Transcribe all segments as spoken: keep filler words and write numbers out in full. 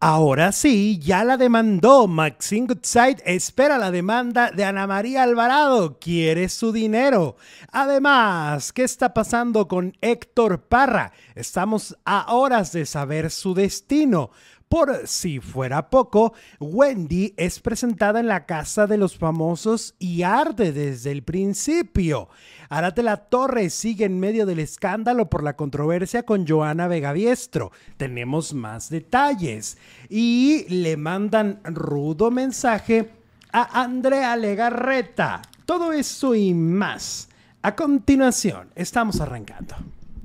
Ahora sí, ya la demandó. Maxine Goodside espera la demanda de Ana María Alvarado. Quiere su dinero. Además, ¿qué está pasando con Héctor Parra? Estamos a horas de saber su destino. Por si fuera poco, Wendy es presentada en la Casa de los Famosos y arde desde el principio. Arate La Torre sigue en medio del escándalo por la controversia con Johanna Vegaviestro. Tenemos más detalles. Y le mandan rudo mensaje a Andrea Legarreta. Todo eso y más. A continuación, estamos arrancando.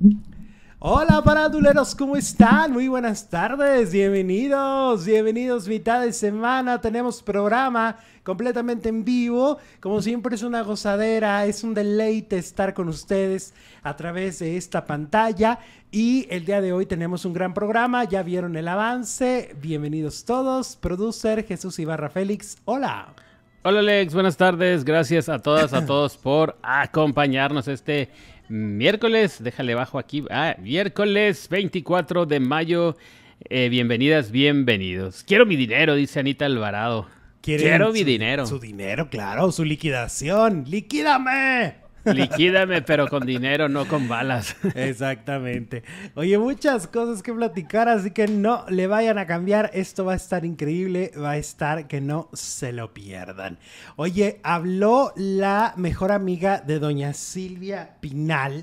Hola paraduleros, ¿cómo están? Muy buenas tardes, bienvenidos, bienvenidos mitad de semana, tenemos programa completamente en vivo, como siempre es una gozadera, es un deleite estar con ustedes a través de esta pantalla y el día de hoy tenemos un gran programa, ya vieron el avance, bienvenidos todos, producer Jesús Ibarra Félix, hola. Hola Alex, buenas tardes, gracias a todas, a todos por acompañarnos este miércoles, déjale bajo aquí, ah, miércoles veinticuatro de mayo, eh, bienvenidas, bienvenidos. Quiero mi dinero, dice Anita Alvarado. Quiero mi su, dinero. Su dinero, claro, su liquidación, ¡liquídame! Liquídame, pero con dinero, no con balas. Exactamente. Oye, muchas cosas que platicar, así que no le vayan a cambiar. Esto va a estar increíble, va a estar que no se lo pierdan. Oye, habló la mejor amiga de doña Silvia Pinal,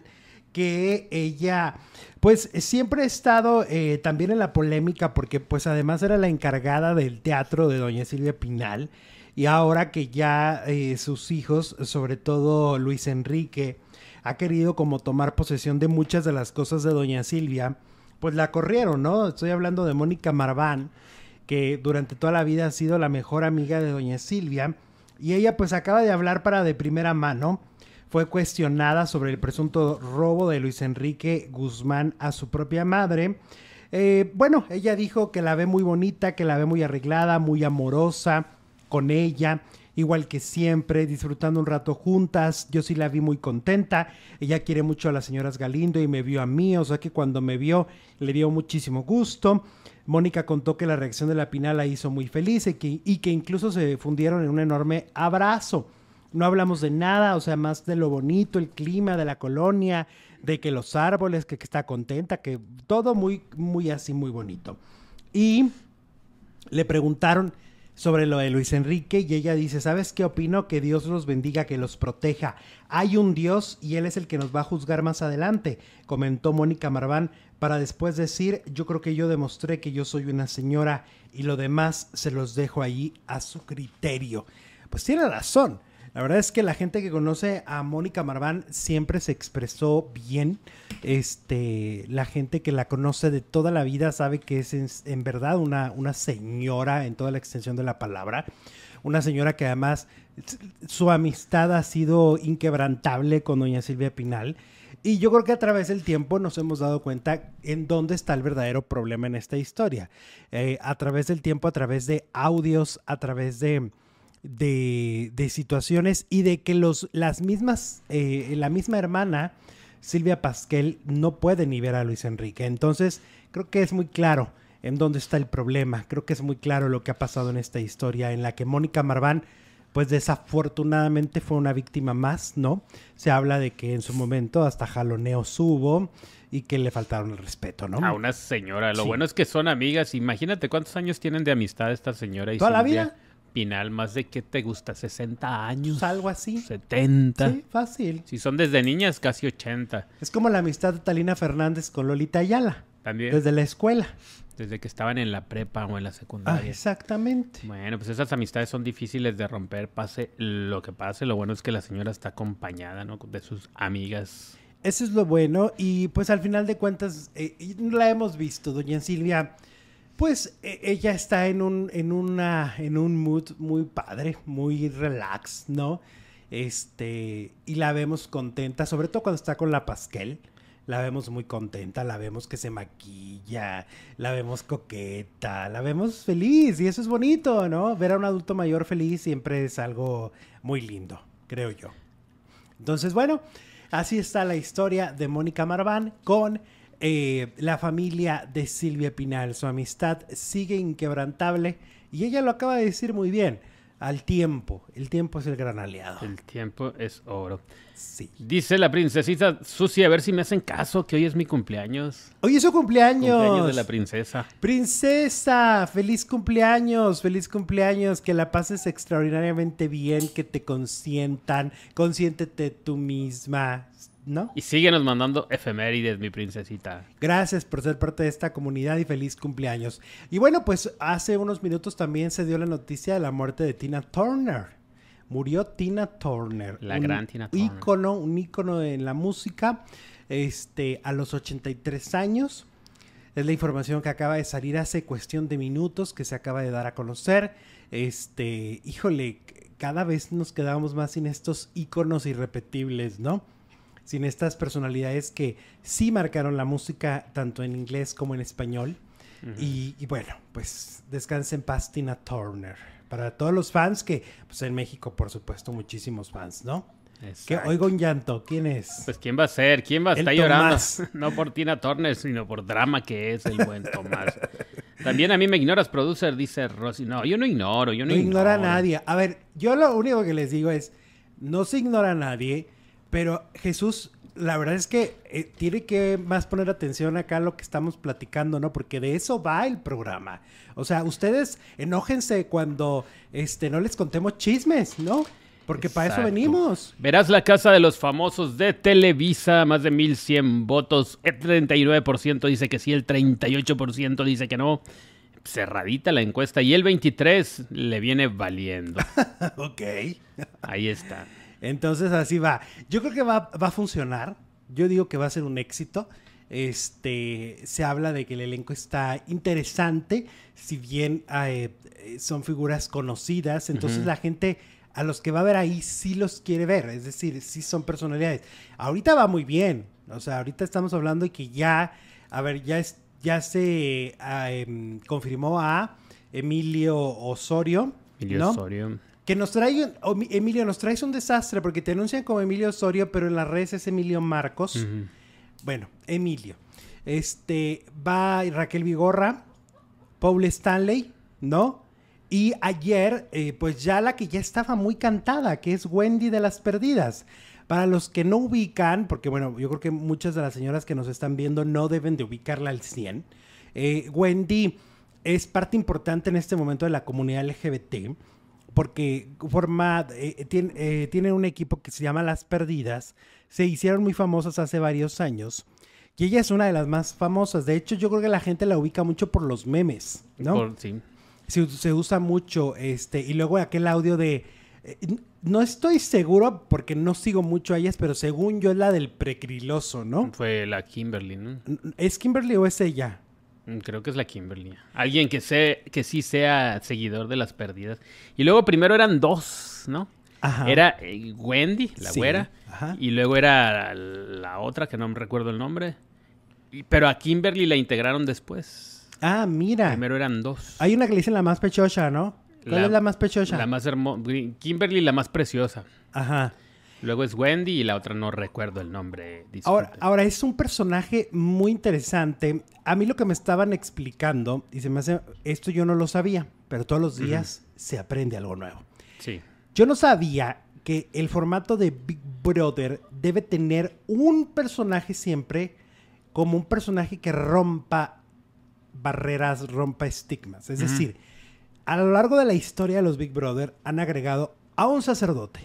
que ella, pues, siempre ha estado eh, también en la polémica, porque, pues, además era la encargada del teatro de doña Silvia Pinal. Y ahora que ya eh, sus hijos, sobre todo Luis Enrique, ha querido como tomar posesión de muchas de las cosas de doña Silvia, pues la corrieron, ¿no? Estoy hablando de Mónica Marván, que durante toda la vida ha sido la mejor amiga de doña Silvia, y ella pues acaba de hablar para de primera mano. Fue cuestionada sobre el presunto robo de Luis Enrique Guzmán a su propia madre. Eh, bueno, ella dijo que la ve muy bonita, que la ve muy arreglada, muy amorosa con ella, igual que siempre, disfrutando un rato juntas. Yo sí la vi muy contenta. Ella quiere mucho a las señoras Galindo y me vio a mí, o sea que cuando me vio le dio muchísimo gusto. Mónica contó que la reacción de la Pinal la hizo muy feliz y que, y que incluso se fundieron en un enorme abrazo. No hablamos de nada, o sea, más de lo bonito, el clima de la colonia, de que los árboles, que, que está contenta, que todo muy, muy así, muy bonito. Y le preguntaron sobre lo de Luis Enrique y ella dice, ¿sabes qué opino? Que Dios los bendiga, que los proteja. Hay un Dios y Él es el que nos va a juzgar más adelante, comentó Mónica Marván, para después decir, yo creo que yo demostré que yo soy una señora y lo demás se los dejo ahí a su criterio. Pues tiene razón. La verdad es que la gente que conoce a Mónica Marván siempre se expresó bien. Este, la gente que la conoce de toda la vida sabe que es en, en verdad una, una señora en toda la extensión de la palabra. Una señora que además su amistad ha sido inquebrantable con doña Silvia Pinal. Y yo creo que a través del tiempo nos hemos dado cuenta en dónde está el verdadero problema en esta historia. Eh, a través del tiempo, a través de audios, a través de... De, de situaciones y de que los, las mismas, eh, la misma hermana, Silvia Pasquel, no puede ni ver a Luis Enrique. Entonces, creo que es muy claro en dónde está el problema. Creo que es muy claro lo que ha pasado en esta historia, en la que Mónica Marván, pues desafortunadamente fue una víctima más, ¿no? Se habla de que en su momento hasta jaloneos hubo y que le faltaron el respeto, ¿no? A una señora. Lo Sí. bueno es que son amigas. Imagínate cuántos años tienen de amistad esta señora y ¿Toda la Silvia vida? Pinal, más de qué te gusta, sesenta años, Algo así. setenta. Sí, fácil. Si son desde niñas, casi ochenta. Es como la amistad de Talina Fernández con Lolita Ayala. También. Desde la escuela. Desde que estaban en la prepa o en la Ah, secundaria. exactamente. Bueno, pues esas amistades son difíciles de romper, pase lo que pase. Lo bueno es que la señora está acompañada, ¿no? De sus amigas. Eso es lo bueno. Y pues al final de cuentas, eh, la hemos visto, doña Silvia. Pues eh, ella está en un, en una, en un mood muy padre, muy relax, ¿no? Este, y la vemos contenta, sobre todo cuando está con la Pasquel. La vemos muy contenta, la vemos que se maquilla, la vemos coqueta, la vemos feliz y eso es bonito, ¿no? Ver a un adulto mayor feliz siempre es algo muy lindo, creo yo. Entonces, bueno, así está la historia de Mónica Marván con eh, la familia de Silvia Pinal. Su amistad sigue inquebrantable y ella lo acaba de decir muy bien. Al tiempo. El tiempo es el gran aliado. El tiempo es oro. Sí. Dice la princesita Susi, a ver si me hacen caso, que hoy es mi cumpleaños. Hoy es su cumpleaños. Cumpleaños de la princesa. Princesa, feliz cumpleaños, feliz cumpleaños. Que la pases extraordinariamente bien, que te consientan. Consiéntete tú misma, ¿no? Y síguenos mandando efemérides, mi princesita. Gracias por ser parte de esta comunidad y feliz cumpleaños. Y bueno, pues hace unos minutos también se dio la noticia de la muerte de Tina Turner. Murió Tina Turner. La gran Tina Turner. Ícono, un ícono en la música, este, a los ochenta y tres años. Es la información que acaba de salir hace cuestión de minutos, que se acaba de dar a conocer. Este, híjole, cada vez nos quedamos más sin estos íconos irrepetibles, ¿no? Sin estas personalidades que sí marcaron la música tanto en inglés como en español. Uh-huh. y, y bueno, pues descanse en paz Tina Turner. Para todos los fans que, pues en México, por supuesto, muchísimos fans, ¿no? Exacto. Que oigo un llanto. ¿Quién es? Pues ¿quién va a ser? ¿Quién va a estar llorando? No por Tina Turner, sino por drama que es el buen Tomás. También a mí me ignoras, producer, dice Rosy. No, yo no ignoro, yo no, no ignoro. ignora a nadie. A ver, yo lo único que les digo es, no se ignora a nadie, pero Jesús, la verdad es que eh, tiene que más poner atención acá a lo que estamos platicando, ¿no? Porque de eso va el programa. O sea, ustedes enójense cuando este, no les contemos chismes, ¿no? Porque Exacto. Para eso venimos. Verás la casa de los famosos de Televisa, más de mil cien votos. El treinta y nueve por ciento dice que sí, el treinta y ocho por ciento dice que no. Cerradita la encuesta y el veintitrés por ciento le viene valiendo. Ok. Ahí está. Entonces así va. Yo creo que va, va a funcionar. Yo digo que va a ser un éxito. Este, se habla de que el elenco está interesante, si bien eh, son figuras conocidas, entonces uh-huh. la gente a los que va a ver ahí sí los quiere ver, es decir, sí son personalidades. Ahorita va muy bien, o sea, ahorita estamos hablando de que ya, a ver, ya, es, ya se eh, confirmó a Emilio Osorio, Emilio ¿no? Osorio. Que nos trae, un, Emilio, nos traes un desastre porque te anuncian como Emilio Osorio, pero en las redes es Emilio Marcos. Uh-huh. Bueno, Emilio. Este, va Raquel Vigorra, Paul Stanley, ¿no? Y ayer, eh, pues ya la que ya estaba muy cantada, que es Wendy de las Perdidas. Para los que no ubican, porque bueno, yo creo que muchas de las señoras que nos están viendo no deben de ubicarla al cien. Eh, Wendy es parte importante en este momento de la comunidad L G B T, porque forma, eh, tiene, eh, tiene un equipo que se llama Las Perdidas. Se hicieron muy famosas hace varios años. Y ella es una de las más famosas. De hecho, yo creo que la gente la ubica mucho por los memes, ¿no? Por, sí. Se, se usa mucho. este Y luego aquel audio de... Eh, no estoy seguro porque no sigo mucho a ellas, pero según yo es la del precriloso, ¿no? Fue la Kimberly, ¿no? ¿Es Kimberly o es ella? Creo que es la Kimberly. Alguien que, sé, que sí sea seguidor de Las Perdidas. Y luego primero eran dos, ¿no? Ajá. Era eh, Wendy, la sí. güera. Ajá. Y luego era la otra, que no me recuerdo el nombre. Y, pero a Kimberly la integraron después. Ah, mira. Primero eran dos. Hay una que le dicen la más pechocha, ¿no? ¿Cuál la, es la más pechocha? La más hermosa. Kimberly, la más preciosa. Ajá. Luego es Wendy y la otra no recuerdo el nombre. Ahora, ahora, es un personaje muy interesante. A mí lo que me estaban explicando, y se me hace, esto yo no lo sabía, pero todos los días uh-huh. se aprende algo nuevo. Sí. Yo no sabía que el formato de Big Brother debe tener un personaje siempre como un personaje que rompa barreras, rompa estigmas. Es uh-huh. decir, a lo largo de la historia de los Big Brother han agregado a un sacerdote,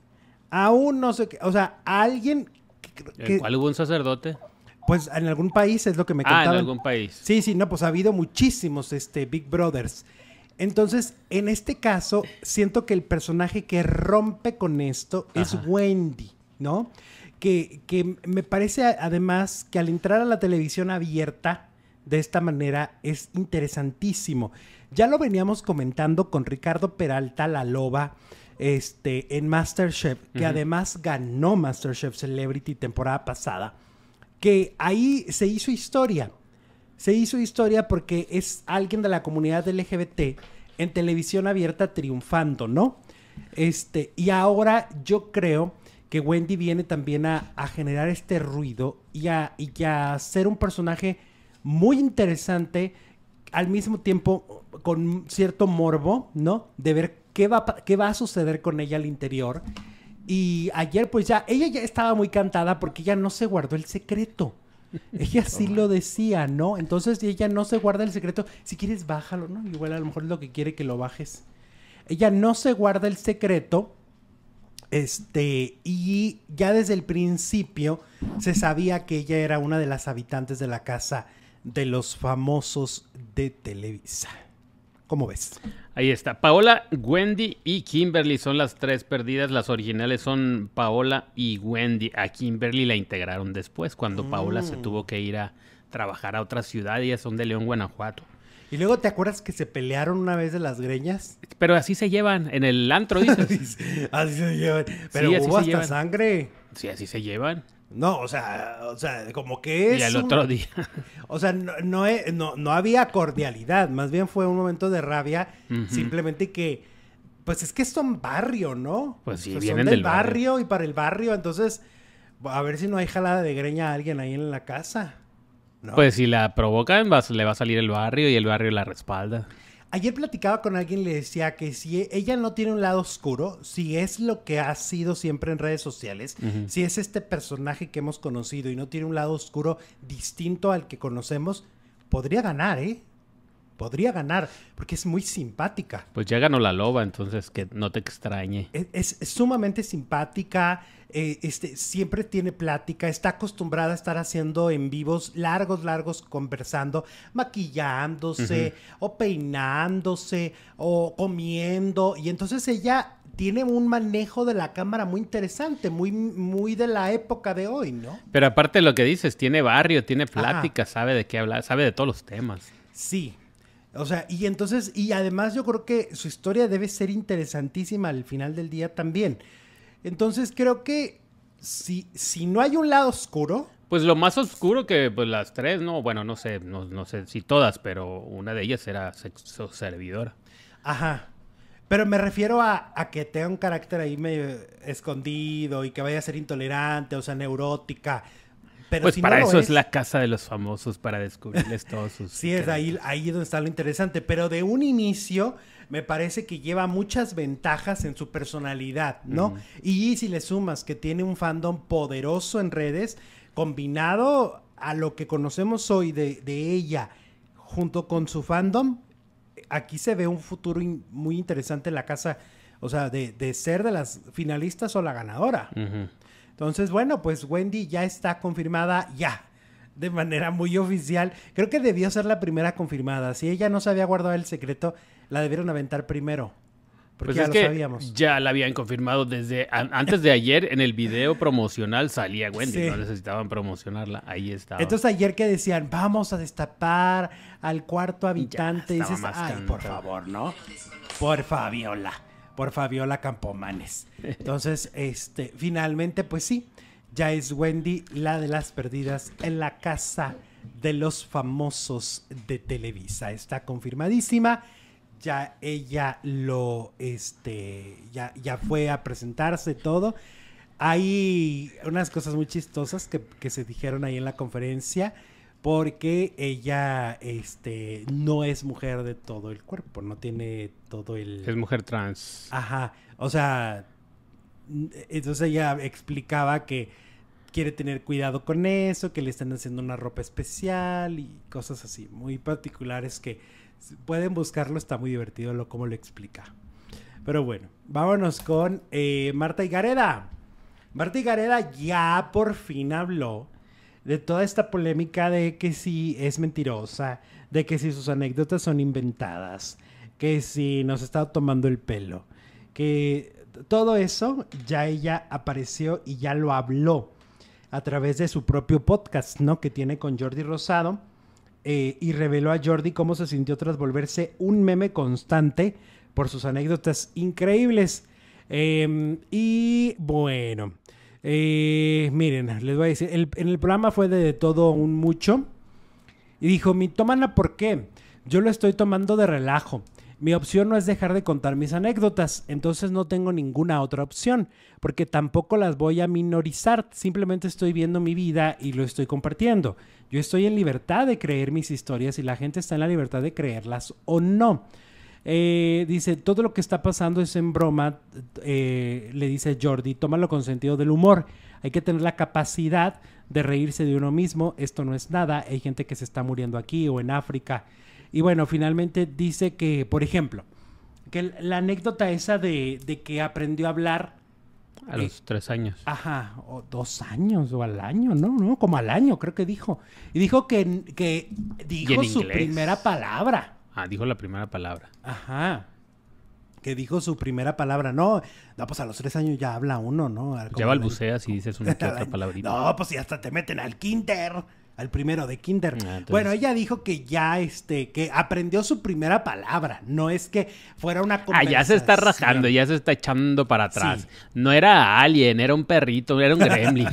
a un no sé qué, o sea, a alguien que, que, ¿cuál hubo un sacerdote? Pues en algún país es lo que me contaban. Ah, en algún país. Sí, sí, no, pues ha habido muchísimos este, Big Brothers. Entonces, en este caso, siento que el personaje que rompe con esto Ajá. es Wendy, ¿no? Que, que me parece además que al entrar a la televisión abierta de esta manera es interesantísimo. Ya lo veníamos comentando con Ricardo Peralta, la loba, este, en MasterChef, que uh-huh. además ganó MasterChef Celebrity temporada pasada, que ahí se hizo historia. Se hizo historia porque es alguien de la comunidad L G B T en televisión abierta triunfando, ¿no? Este, y ahora yo creo que Wendy viene también a, a generar este ruido y a, y a ser un personaje muy interesante, al mismo tiempo con cierto morbo, ¿no? De ver qué va, qué va a suceder con ella al interior. Y ayer pues ya, ella ya estaba muy cantada porque ella no se guardó el secreto. Ella sí lo decía, ¿no? Entonces ella no se guarda el secreto. Si quieres, bájalo, ¿no? Igual a lo mejor es lo que quiere que lo bajes. Ella no se guarda el secreto. Este, y ya desde el principio se sabía que ella era una de las habitantes de la casa de los famosos de Televisa. ¿Cómo ves? Ahí está. Paola, Wendy y Kimberly son las tres perdidas. Las originales son Paola y Wendy. A Kimberly la integraron después, cuando mm. Paola se tuvo que ir a trabajar a otra ciudad. Ellas son de León, Guanajuato. Y luego, ¿te acuerdas que se pelearon una vez de las greñas? Pero así se llevan, en el antro, dices. Así se llevan. Pero sí, hubo hasta llevan. Sangre. Sí, así se llevan. No, o sea, o sea, como que es... Y al un... otro día. O sea, no, no, no, no había cordialidad. Más bien fue un momento de rabia. Uh-huh. Simplemente que... Pues es que son barrio, ¿no? Pues sí, o sea, vienen son del del barrio. barrio y para el barrio. Entonces, a ver si no hay jalada de greña a alguien ahí en la casa. ¿No? Pues si la provocan, va, le va a salir el barrio y el barrio la respalda. Ayer platicaba con alguien y le decía que si ella no tiene un lado oscuro, si es lo que ha sido siempre en redes sociales, uh-huh. si es este personaje que hemos conocido y no tiene un lado oscuro distinto al que conocemos, podría ganar, ¿eh? Podría ganar, porque es muy simpática. Pues ya ganó la loba, entonces que no te extrañe. Es, es, es sumamente simpática, eh, este, siempre tiene plática, está acostumbrada a estar haciendo en vivos largos, largos, conversando, maquillándose, uh-huh. o peinándose, o comiendo, y entonces ella tiene un manejo de la cámara muy interesante, muy, muy de la época de hoy, ¿no? Pero aparte de lo que dices, tiene barrio, tiene plática, Ajá. sabe de qué hablar, sabe de todos los temas. Sí. O sea, y entonces, y además yo creo que su historia debe ser interesantísima al final del día también. Entonces creo que si, si no hay un lado oscuro... Pues lo más oscuro que pues las tres, ¿no? Bueno, no sé, no, no sé si todas, pero una de ellas era sexo servidora. Ajá. Pero me refiero a, a que tenga un carácter ahí medio escondido y que vaya a ser intolerante, o sea, neurótica... Pero pues si para no eso es, es la casa de los famosos, para descubrirles todos sus... Sí, es ahí, ahí donde está lo interesante. Pero de un inicio me parece que lleva muchas ventajas en su personalidad, ¿no? Uh-huh. Y si le sumas que tiene un fandom poderoso en redes, combinado a lo que conocemos hoy de, de ella, junto con su fandom, aquí se ve un futuro in, muy interesante en la casa, o sea, de, de ser de las finalistas o la ganadora. Uh-huh. Entonces, bueno, pues Wendy ya está confirmada ya, de manera muy oficial. Creo que debió ser la primera confirmada. Si ella no se había guardado el secreto, la debieron aventar primero. Porque pues ya es lo que sabíamos. Ya la habían confirmado desde a, antes de ayer en el video promocional salía Wendy, sí. No necesitaban promocionarla, ahí estaba. Entonces ayer que decían, vamos a destapar al cuarto habitante, y dices, ay, por favor, ¿no? Por Fabiola. Por Fabiola Campomanes. Entonces, este, finalmente, pues sí, ya es Wendy la de las perdidas en la casa de los famosos de Televisa. Está confirmadísima. Ya ella lo, este, ya, ya fue a presentarse todo. Hay unas cosas muy chistosas que, que se dijeron ahí en la conferencia. Porque ella este, no es mujer de todo el cuerpo, no tiene todo el... Es mujer trans. Ajá, o sea, entonces ella explicaba que quiere tener cuidado con eso, que le están haciendo una ropa especial y cosas así, muy particulares que pueden buscarlo, está muy divertido lo cómo lo explica. Pero bueno, vámonos con eh, Marta Higareda. Marta Higareda ya por fin habló de toda esta polémica de que si es mentirosa, de que si sus anécdotas son inventadas, que si nos está tomando el pelo, que todo eso ya ella apareció y ya lo habló a través de su propio podcast, ¿no? Que tiene con Jordi Rosado, eh, y reveló a Jordi cómo se sintió tras volverse un meme constante por sus anécdotas increíbles. Eh, y bueno... Eh, miren, les voy a decir, el, en el programa fue de, de todo un mucho y dijo, mitómana, ¿por qué? Yo lo estoy tomando de relajo. Mi opción no es dejar de contar mis anécdotas, entonces no tengo ninguna otra opción, porque tampoco las voy a minorizar, simplemente estoy viendo mi vida y lo estoy compartiendo. Yo estoy en libertad de creer mis historias y la gente está en la libertad de creerlas o no. Eh, dice, todo lo que está pasando es en broma, eh, le dice Jordi, tómalo con sentido del humor. Hay que tener la capacidad de reírse de uno mismo, esto no es nada, hay gente que se está muriendo aquí o en África. Y bueno, finalmente dice que, por ejemplo, que la anécdota esa de, de que aprendió a hablar... A eh, los tres años. Ajá, o dos años o al año, ¿no? no Como al año, creo que dijo. Y dijo que, que dijo su inglés? primera palabra. Ah, dijo la primera palabra. Ajá. Que dijo su primera palabra. No, no, pues a los tres años ya habla uno, ¿no? Como ya balbuceas y dices una que otra palabrita. No, pues si hasta te meten al kinder. Al primero de kinder. Ah, entonces... Bueno, ella dijo que ya, este, que aprendió su primera palabra. No es que fuera una conversación. Ah, ya se está rajando, ya se está echando para atrás. Sí. No era alien, era un perrito, era un gremlin.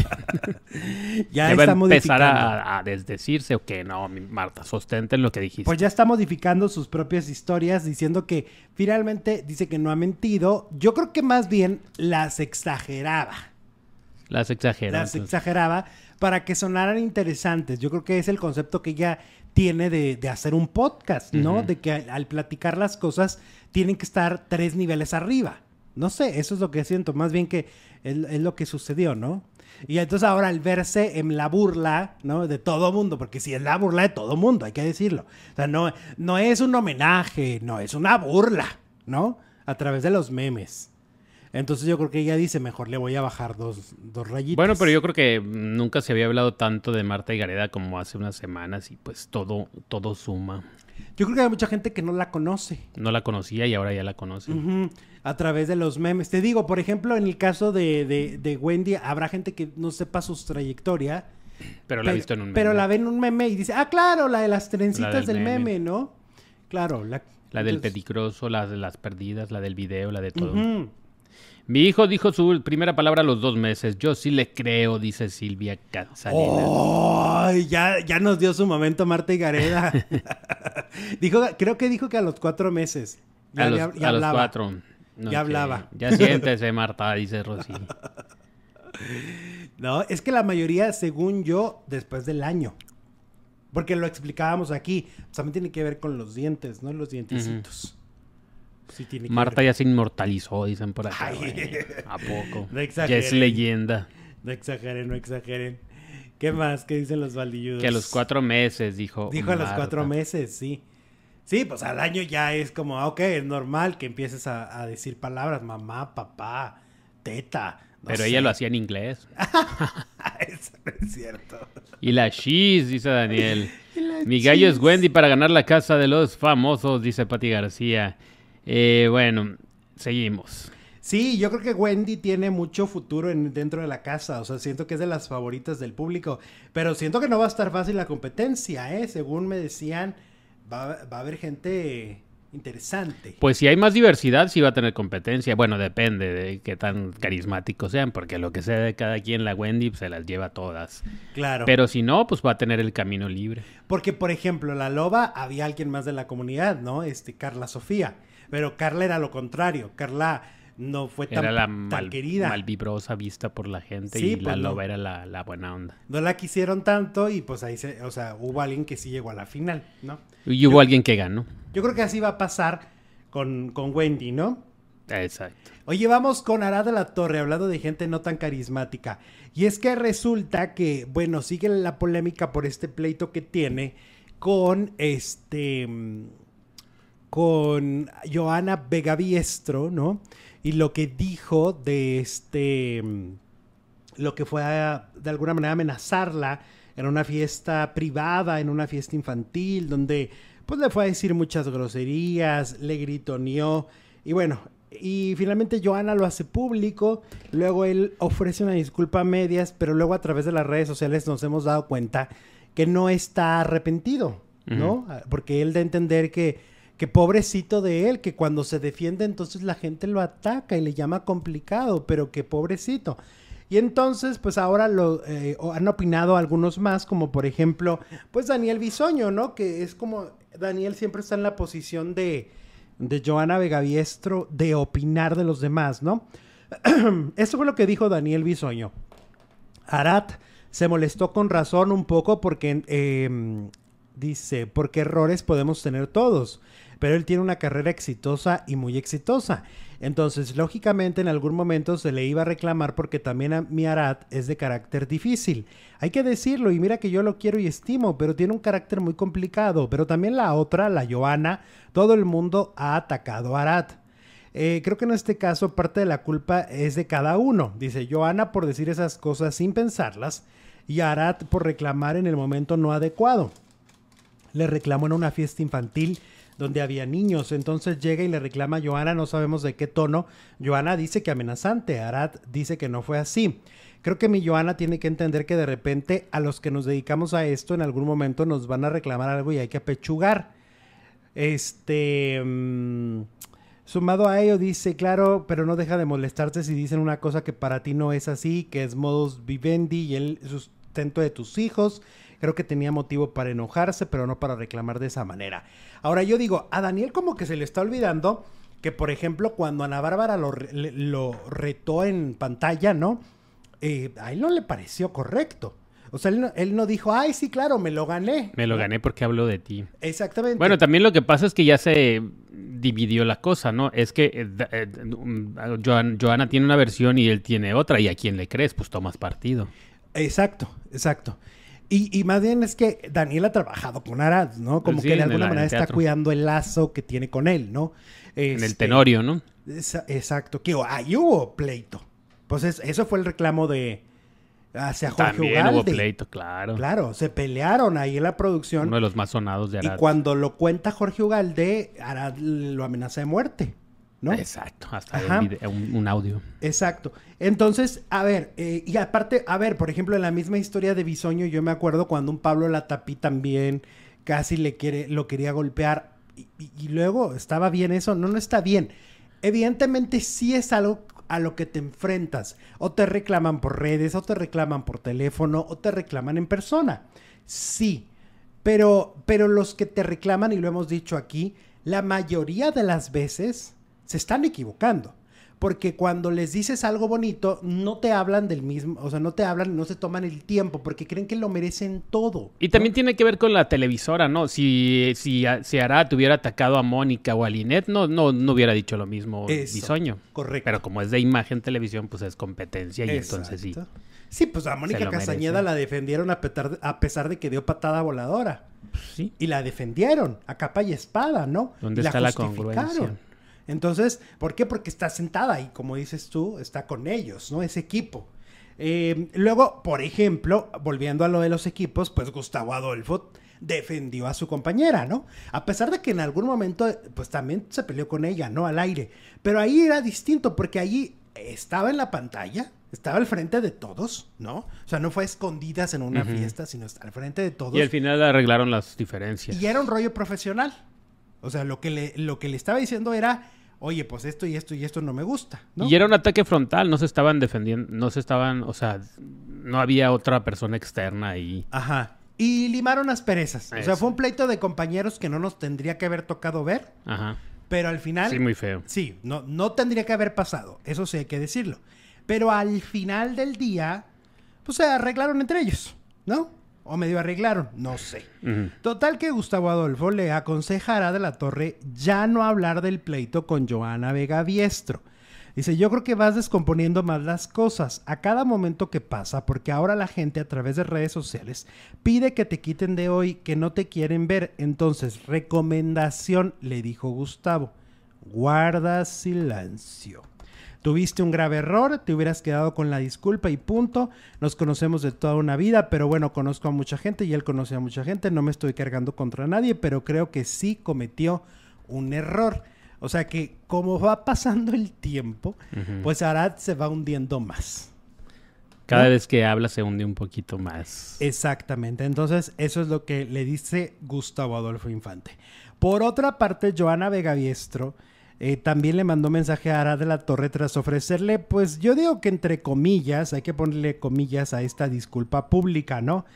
Ya está a modificando. empezar a, a desdecirse o qué, no, Marta, sostente en lo que dijiste. Pues ya está modificando sus propias historias, diciendo que finalmente dice que no ha mentido. Yo creo que más bien las exageraba. Las exageraba. Las entonces. exageraba para que sonaran interesantes. Yo creo que es el concepto que ella tiene de, de hacer un podcast, ¿no? Uh-huh. De que al, al platicar las cosas tienen que estar tres niveles arriba. No sé, eso es lo que siento. Más bien que es, es lo que sucedió, ¿no? Y entonces ahora al verse en la burla, ¿no? De todo mundo, porque si es la burla de todo mundo, hay que decirlo. O sea, no, no es un homenaje, no, es una burla, ¿no? A través de los memes. Entonces yo creo que ella dice, mejor le voy a bajar dos, dos rayitas. Bueno, pero yo creo que nunca se había hablado tanto de Marta y Gareda como hace unas semanas y pues todo, todo suma. Yo creo que hay mucha gente que no la conoce. No la conocía y ahora ya la conoce. Uh-huh. A través de los memes. Te digo, por ejemplo, en el caso de, de, de Wendy, habrá gente que no sepa su trayectoria. Pero la ha visto en un meme. Pero la ve en un meme y dice, ah, claro, la de las trencitas del, del meme. meme, ¿no? Claro. La, la del entonces... peligroso, la de las perdidas, la del video, la de todo. Uh-huh. Mi hijo dijo su primera palabra a los dos meses. Yo sí le creo, dice Silvia Salinas. ¡Oh! Ya, ya nos dio su momento Marta y Gareda. dijo, creo que dijo que a los cuatro meses. Ya, a los, ya, ya a los cuatro. No, ya hablaba. Ya siéntese, Marta, dice Rosy. No, es que la mayoría, según yo, después del año. Porque lo explicábamos aquí. También tiene que ver con los dientes, ¿no? Los dientecitos. Uh-huh. Sí, tiene que Marta ver. Ya se inmortalizó, dicen por acá. Ay, ¿a poco? No exageren. Ya es leyenda. No exageren, no exageren. ¿Qué más? ¿Qué dicen los baldilludos? Que a los cuatro meses, dijo Dijo Marta. A los cuatro meses, sí. Sí, pues al año ya es como, ok, es normal que empieces a, a decir palabras. Mamá, papá, teta. No Pero sé. Ella lo hacía en inglés. Eso no es cierto. Y la cheese, dice Daniel. Mi gallo cheese. Es Wendy para ganar la casa de los famosos, dice Pati García. Eh, bueno, seguimos. Sí, yo creo que Wendy tiene mucho futuro en, dentro de la casa. O sea, siento que es de las favoritas del público. Pero siento que no va a estar fácil la competencia, ¿eh? Según me decían, va, va a haber gente interesante. Pues si hay más diversidad, sí va a tener competencia. Bueno, depende de qué tan carismáticos sean. Porque lo que sea de cada quien, la Wendy pues, se las lleva todas. Claro. Pero si no, pues va a tener el camino libre. Porque, por ejemplo, la Loba, había alguien más de la comunidad, ¿no? Este, Carla Sofía. Pero Carla era lo contrario. Carla no fue tan, era la tan mal, querida. Malvibrosa vista por la gente sí, y pues la Loba no. Era la, la buena onda. No la quisieron tanto y pues ahí se, o sea, hubo alguien que sí llegó a la final, ¿no? Y hubo yo, alguien que ganó. Yo creo que así va a pasar con, con Wendy, ¿no? Exacto. Oye, vamos con Arad de la Torre, hablando de gente no tan carismática. Y es que resulta que, bueno, sigue la polémica por este pleito que tiene con este... con Johanna Vegaviestro, ¿no? Y lo que dijo de este... lo que fue a, de alguna manera amenazarla en una fiesta privada, en una fiesta infantil, donde pues le fue a decir muchas groserías, le gritoneó, y bueno, y finalmente Johanna lo hace público, luego él ofrece una disculpa a medias, pero luego a través de las redes sociales nos hemos dado cuenta que no está arrepentido, ¿no? Uh-huh. Porque él da a entender que que pobrecito de él, que cuando se defiende entonces la gente lo ataca y le llama complicado, pero que pobrecito. Y entonces, pues ahora lo eh, han opinado algunos más, como por ejemplo, pues Daniel Bisoño, ¿no? Que es como, Daniel siempre está en la posición de, de Johanna Vegaviestro de opinar de los demás, ¿no? Eso fue lo que dijo Daniel Bisoño. Arad se molestó con razón un poco porque, eh, dice, porque errores podemos tener todos, pero él tiene una carrera exitosa y muy exitosa. Entonces, lógicamente, en algún momento se le iba a reclamar porque también a mi Arad es de carácter difícil. Hay que decirlo, y mira que yo lo quiero y estimo, pero tiene un carácter muy complicado. Pero también la otra, la Johanna, todo el mundo ha atacado a Arad. Eh, creo que en este caso parte de la culpa es de cada uno. Dice Johanna por decir esas cosas sin pensarlas y Arad por reclamar en el momento no adecuado. Le reclamó en una fiesta infantil donde había niños, entonces llega y le reclama a Johanna, no sabemos de qué tono. Johanna dice que amenazante, Arad dice que no fue así. Creo que mi Johanna tiene que entender que de repente a los que nos dedicamos a esto en algún momento nos van a reclamar algo y hay que apechugar. Este... Mmm, Sumado a ello dice, claro, pero no deja de molestarte si dicen una cosa que para ti no es así, que es modus vivendi y el sustento de tus hijos. Creo que tenía motivo para enojarse, pero no para reclamar de esa manera. Ahora yo digo, a Daniel como que se le está olvidando que, por ejemplo, cuando Ana Bárbara lo, lo retó en pantalla, ¿no? Eh, a él no le pareció correcto. O sea, él no, él no dijo, ay, sí, claro, me lo gané. Me lo gané porque hablo de ti. Exactamente. Bueno, también lo que pasa es que ya se dividió la cosa, ¿no? Es que eh, eh, Johan, Johanna tiene una versión y él tiene otra. ¿Y a quién le crees? Pues tomas partido. Exacto, exacto. Y, y más bien es que Daniel ha trabajado con Arad, ¿no? Como Sí, que de en alguna el- manera en el está teatro. cuidando el lazo que tiene con él, ¿no? En el Este, Tenorio, ¿no? esa- exacto. Que ahí hubo pleito. Pues es- eso fue el reclamo de hacia Jorge También Ugalde. hubo pleito, claro. Claro, se pelearon ahí en la producción. Uno de los más sonados de Y Arad. cuando lo cuenta Jorge Ugalde, Arad lo amenaza de muerte, ¿no? Exacto, hasta Ajá. un, video- un- un audio. Exacto. Entonces, a ver, eh, y aparte, a ver, por ejemplo, en la misma historia de Bisoño, yo me acuerdo cuando un Pablo Latapí también casi le quiere, lo quería golpear y, y- y luego, ¿estaba bien eso? No, no está bien. Evidentemente sí es algo a lo que te enfrentas. O te reclaman por redes, o te reclaman por teléfono, o te reclaman en persona. Sí, pero, pero los que te reclaman, y lo hemos dicho aquí, la mayoría de las veces se están equivocando. Porque cuando les dices algo bonito, no te hablan del mismo, o sea, no te hablan, no se toman el tiempo, porque creen que lo merecen todo. Y también ¿no? tiene que ver con la televisora, ¿no? Si, si, si Arad hubiera atacado a Mónica o a Linet, no, no, no hubiera dicho lo mismo Eso, Bisoño. correcto. Pero como es de imagen televisión, pues es competencia y entonces sí. Exacto. Sí, pues a Mónica lo Castañeda merece. la defendieron a, petar- a pesar de que dio patada voladora. Sí. Y la defendieron a capa y espada, ¿no? ¿Dónde Y está la justificaron. congruencia? Entonces, ¿por qué? Porque está sentada y como dices tú, está con ellos, ¿no? Ese equipo. Eh, luego, por ejemplo, volviendo a lo de los equipos, pues Gustavo Adolfo defendió a su compañera, ¿no? A pesar de que en algún momento, pues también se peleó con ella, ¿no? Al aire. Pero ahí era distinto porque allí estaba en la pantalla, estaba al frente de todos, ¿no? O sea, no fue a escondidas en una Ujú. fiesta, sino al frente de todos. Y al final arreglaron las diferencias. Y era un rollo profesional. O sea, lo que le, lo que le estaba diciendo era, oye, pues esto y esto y esto no me gusta, ¿no? Y era un ataque frontal, no se estaban defendiendo, no se estaban, o sea, no había otra persona externa ahí. Ajá. Y limaron las perezas. O sea, Eso. fue un pleito de compañeros que no nos tendría que haber tocado ver, Ajá. pero al final... Sí, muy feo. Sí, no, no tendría que haber pasado. Eso sí hay que decirlo. Pero al final del día, pues se arreglaron entre ellos, ¿no? O medio arreglaron, no sé. Ujú. Total que Gustavo Adolfo le aconsejará de la Torre ya no hablar del pleito con Johanna Vega Biestro. Dice, yo creo que vas descomponiendo más las cosas a cada momento que pasa, porque ahora la gente a través de redes sociales pide que te quiten de hoy, que no te quieren ver. Entonces, recomendación, le dijo Gustavo, guarda silencio. Tuviste un grave error, te hubieras quedado con la disculpa y punto. Nos conocemos de toda una vida, pero bueno, conozco a mucha gente y él conoce a mucha gente. No me estoy cargando contra nadie, pero creo que sí cometió un error. O sea que como va pasando el tiempo, Ujú. pues Arad se va hundiendo más. Cada ¿no? vez que habla se hunde un poquito más. Exactamente. Entonces, eso es lo que le dice Gustavo Adolfo Infante. Por otra parte, Johanna Vega Biestro eh, también le mandó mensaje a Arad de la Torre tras ofrecerle, pues yo digo que entre comillas, hay que ponerle comillas a esta disculpa pública, ¿no?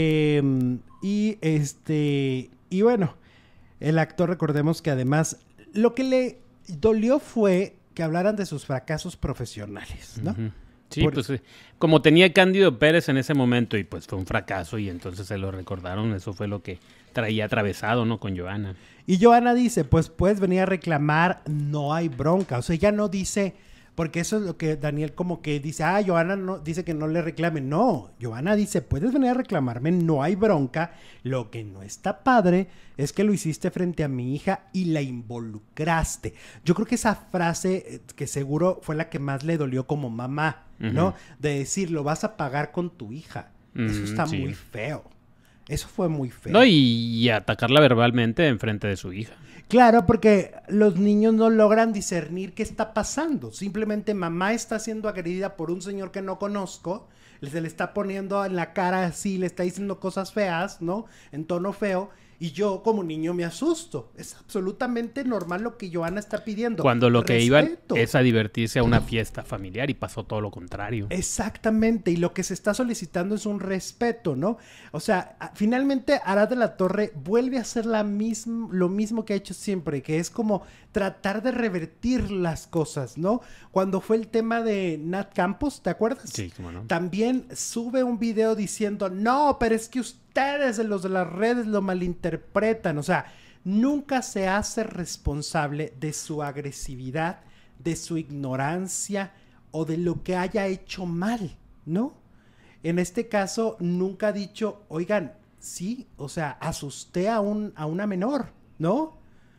Eh, y este, y bueno, el actor, recordemos que además lo que le dolió fue que hablaran de sus fracasos profesionales, ¿no? Uh-huh. Sí, Por... pues como tenía Cándido Pérez en ese momento y pues fue un fracaso y entonces se lo recordaron, eso fue lo que traía atravesado, ¿no? Con Johanna. Y Johanna dice, pues puedes venir a reclamar, no hay bronca. O sea, ella no dice, porque eso es lo que Daniel como que dice, ah, Johanna no, dice que no le reclame. No, Johanna dice, puedes venir a reclamarme, no hay bronca. Lo que no está padre es que lo hiciste frente a mi hija y la involucraste. Yo creo que esa frase que seguro fue la que más le dolió como mamá, uh-huh. ¿no? De decir, lo vas a pagar con tu hija. Uh-huh, eso está sí. muy feo. Eso fue muy feo. No, y, y atacarla verbalmente en frente de su hija. Claro, porque los niños no logran discernir qué está pasando. Simplemente mamá está siendo agredida por un señor que no conozco, se le está poniendo en la cara así, le está diciendo cosas feas, ¿no? En tono feo. Y yo como niño me asusto. Es absolutamente normal lo que Johanna está pidiendo. Cuando lo que iban es a divertirse a una fiesta familiar y pasó todo lo contrario. Exactamente. Y lo que se está solicitando es un respeto, ¿no? O sea, finalmente Arad de la Torre vuelve a hacer la misma, lo mismo que ha hecho siempre, que es como tratar de revertir las cosas, ¿no? Cuando fue el tema de Nat Campos, ¿te acuerdas? Sí, cómo no. También sube un video diciendo, no, pero es que ustedes, los de las redes, lo malinterpretan. O sea, nunca se hace responsable de su agresividad, de su ignorancia o de lo que haya hecho mal, ¿no? En este caso, nunca ha dicho, oigan, sí, o sea, asusté a, un, a una menor, ¿no?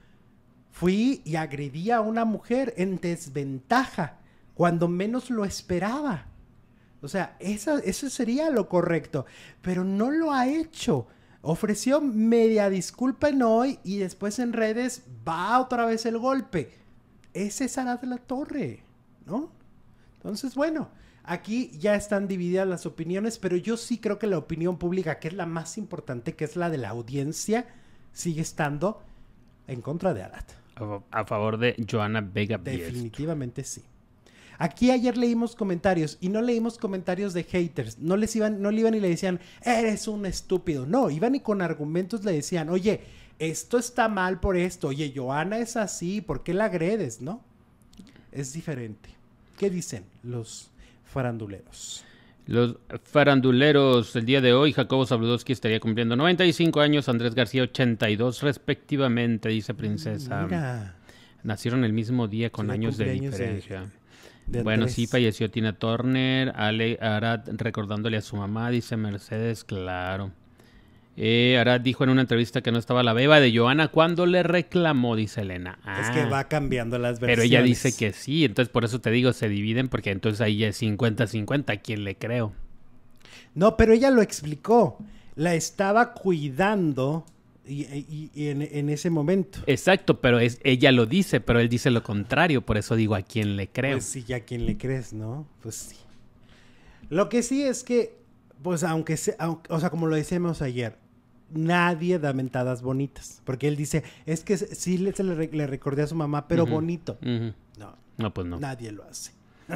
Fui y agredí a una mujer en desventaja, cuando menos lo esperaba. O sea, esa, eso sería lo correcto, pero no lo ha hecho. Ofreció media disculpa en hoy y después en redes va otra vez el golpe. Ese es Arad de la Torre, ¿no? Entonces, bueno, aquí ya están divididas las opiniones, pero yo sí creo que la opinión pública, que es la más importante, que es la de la audiencia, sigue estando en contra de Arad. A favor de Johanna Vega Biesto. Definitivamente sí. Aquí ayer leímos comentarios y no leímos comentarios de haters. No les iban, no le iban y le decían, eres un estúpido. No, iban y con argumentos le decían, oye, esto está mal por esto. Oye, Johanna es así, ¿por qué la agredes? ¿No? Es diferente. ¿Qué dicen los faranduleros? Los faranduleros, el día de hoy, Jacobo Zabludowski estaría cumpliendo noventa y cinco años, Andrés García ochenta y dos respectivamente, dice Princesa. Mira. Nacieron el mismo día con años de diferencia. De, de bueno, sí, falleció Tina Turner, Ale Arad recordándole a su mamá, dice Mercedes, claro. Eh, Arad dijo en una entrevista que no estaba la beba de Johanna cuando le reclamó, dice Elena. Ah, es que va cambiando las versiones. Pero ella dice que sí, entonces por eso te digo, se dividen, porque entonces ahí ya es cincuenta cincuenta, ¿a quién le creo? No, pero ella lo explicó, la estaba cuidando y, y, y en, en ese momento. Exacto, pero es, ella lo dice, pero él dice lo contrario, por eso digo, ¿a quién le creo? Pues sí, ¿a quién le crees, no? Pues sí. Lo que sí es que, pues aunque sea, aunque, o sea, como lo decíamos ayer, nadie da mentadas bonitas, porque él dice, es que sí le, se le, le recordé a su mamá, pero uh-huh, bonito. Uh-huh. No, no, pues no. Nadie lo hace.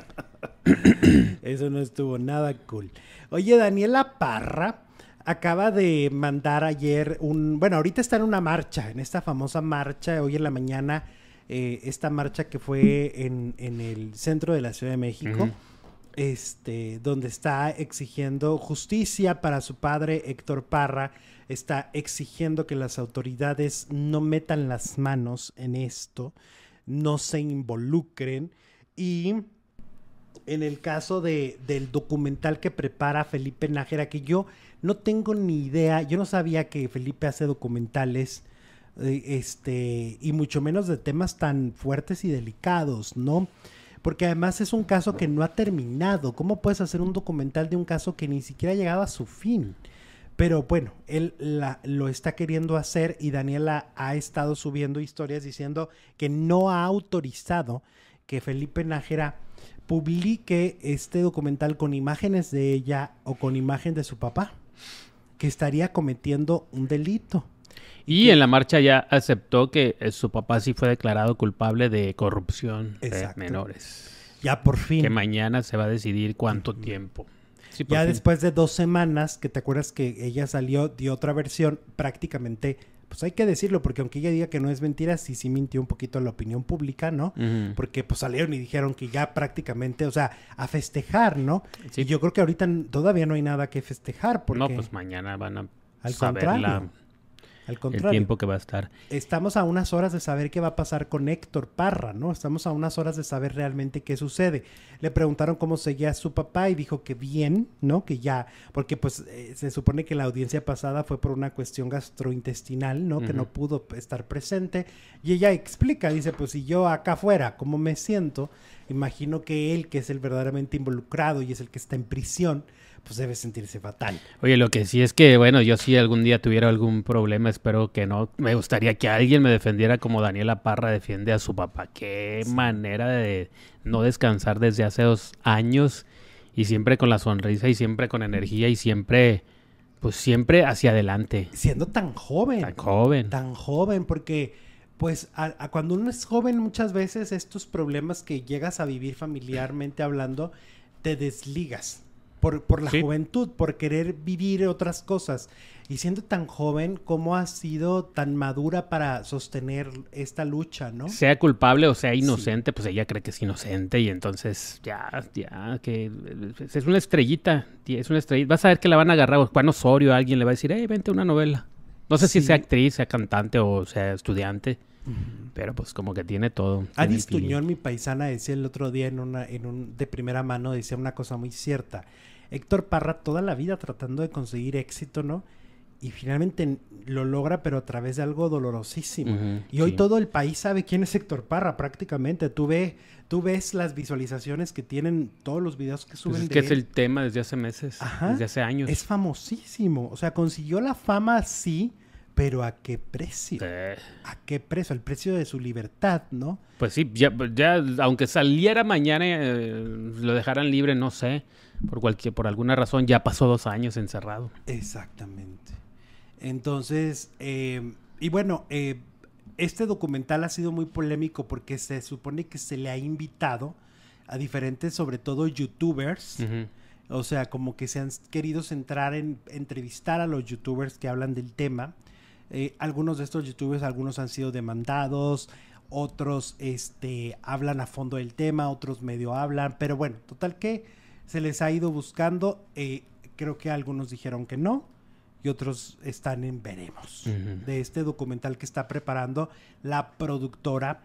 Eso no estuvo nada cool. Oye, Daniela Parra acaba de mandar ayer un, bueno, ahorita está en una marcha, en esta famosa marcha, hoy en la mañana, eh, esta marcha que fue en, en el centro de la Ciudad de México. Uh-huh. Este, donde está exigiendo justicia para su padre Héctor Parra, está exigiendo que las autoridades no metan las manos en esto, no se involucren. Y en el caso de, del documental que prepara Felipe Nájera, que yo no tengo ni idea, yo no sabía que Felipe hace documentales, eh, este, y mucho menos de temas tan fuertes y delicados, ¿no? Porque además es un caso que no ha terminado. ¿Cómo puedes hacer un documental de un caso que ni siquiera ha llegado a su fin? Pero bueno, él la, lo está queriendo hacer y Daniela ha estado subiendo historias diciendo que no ha autorizado que Felipe Nájera publique este documental con imágenes de ella o con imagen de su papá, que estaría cometiendo un delito. Y que en la marcha ya aceptó que su papá sí fue declarado culpable de corrupción. Exacto. De menores. Ya por fin. Que mañana se va a decidir cuánto uh-huh. tiempo. Sí, ya fin. Después de dos semanas, que te acuerdas que ella salió, dio otra versión prácticamente pues hay que decirlo, porque aunque ella diga que no es mentira, sí, sí mintió un poquito a la opinión pública, ¿no? Uh-huh. Porque pues salieron y dijeron que ya prácticamente, o sea, a festejar, ¿no? Sí. Y yo creo que ahorita todavía no hay nada que festejar, porque... No, pues mañana van a al saber contrario, la, al el contrario. tiempo que va a estar. Estamos a unas horas de saber qué va a pasar con Héctor Parra, ¿no? Estamos a unas horas de saber realmente qué sucede. Le preguntaron cómo seguía su papá y dijo que bien, ¿no? Que ya, porque pues eh, se supone que la audiencia pasada fue por una cuestión gastrointestinal, ¿no? Uh-huh. Que no pudo estar presente. Y ella explica, dice, pues si yo acá fuera, ¿cómo me siento? Imagino que él, que es el verdaderamente involucrado y es el que está en prisión, pues debe sentirse fatal. Oye, lo que sí es que, bueno, yo sí algún día tuviera algún problema, espero que no. Me gustaría que alguien me defendiera como Daniela Parra defiende a su papá. Qué sí. manera de no descansar desde hace dos años y siempre con la sonrisa y siempre con energía y siempre, pues siempre hacia adelante. Siendo tan joven. Tan joven. Tan joven, porque pues a, a cuando uno es joven muchas veces estos problemas que llegas a vivir familiarmente hablando, te desligas. Por, por la sí. juventud, por querer vivir otras cosas. Y siendo tan joven, ¿cómo has sido tan madura para sostener esta lucha, no? Sea culpable o sea inocente, sí. pues ella cree que es inocente y entonces ya, ya, que es una estrellita, es una estrellita. Vas a ver que la van a agarrar, Juan Osorio, alguien le va a decir, hey, vente una novela. No sé sí. si sea actriz, sea cantante o sea estudiante. Uh-huh. Pero pues como que tiene todo. Adis Tuñón, mi paisana, decía el otro día en una, en un de primera mano, decía una cosa muy cierta. Héctor Parra toda la vida tratando de conseguir éxito, ¿no? Y finalmente lo logra, pero a través de algo dolorosísimo. Uh-huh, y hoy sí. todo el país sabe quién es Héctor Parra, prácticamente. Tú, ve, tú ves las visualizaciones que tienen todos los videos que suben pues es de que él. Es el tema desde hace meses, Ajá, desde hace años. Es famosísimo. O sea, consiguió la fama, sí, pero ¿a qué precio? Eh. ¿A qué precio? El precio de su libertad, ¿no? Pues sí, ya, ya aunque saliera mañana, eh, lo dejaran libre, no sé. Por cualquier, por alguna razón ya pasó dos años encerrado. Exactamente. Entonces, eh, y bueno, eh, este documental ha sido muy polémico porque se supone que se le ha invitado a diferentes, sobre todo youtubers, uh-huh. o sea, como que se han querido centrar en entrevistar a los youtubers que hablan del tema. Eh, algunos de estos youtubers, algunos han sido demandados, otros este, hablan a fondo del tema, otros medio hablan, pero bueno, total que se les ha ido buscando, eh, creo que algunos dijeron que no y otros están en veremos uh-huh. de este documental que está preparando la productora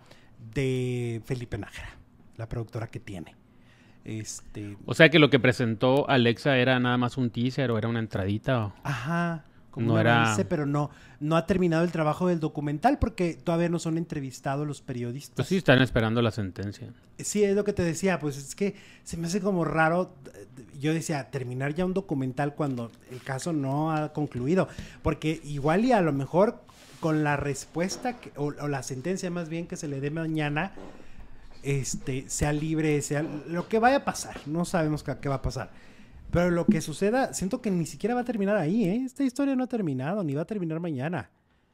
de Felipe Nájera, la productora que tiene. Este... O sea que lo que presentó Alexa era nada más un teaser o era una entradita. ¿O? Ajá. Como no era... avance, pero no, no ha terminado el trabajo del documental porque todavía no son entrevistados los periodistas. Pues sí, están esperando la sentencia. Sí, es lo que te decía, pues es que se me hace como raro, yo decía, terminar ya un documental cuando el caso no ha concluido, porque igual y a lo mejor con la respuesta, que, o, o la sentencia más bien que se le dé mañana, este, sea libre, sea lo que vaya a pasar, no sabemos qué, qué va a pasar. Pero lo que suceda, siento que ni siquiera va a terminar ahí, ¿eh? Esta historia no ha terminado, ni va a terminar mañana.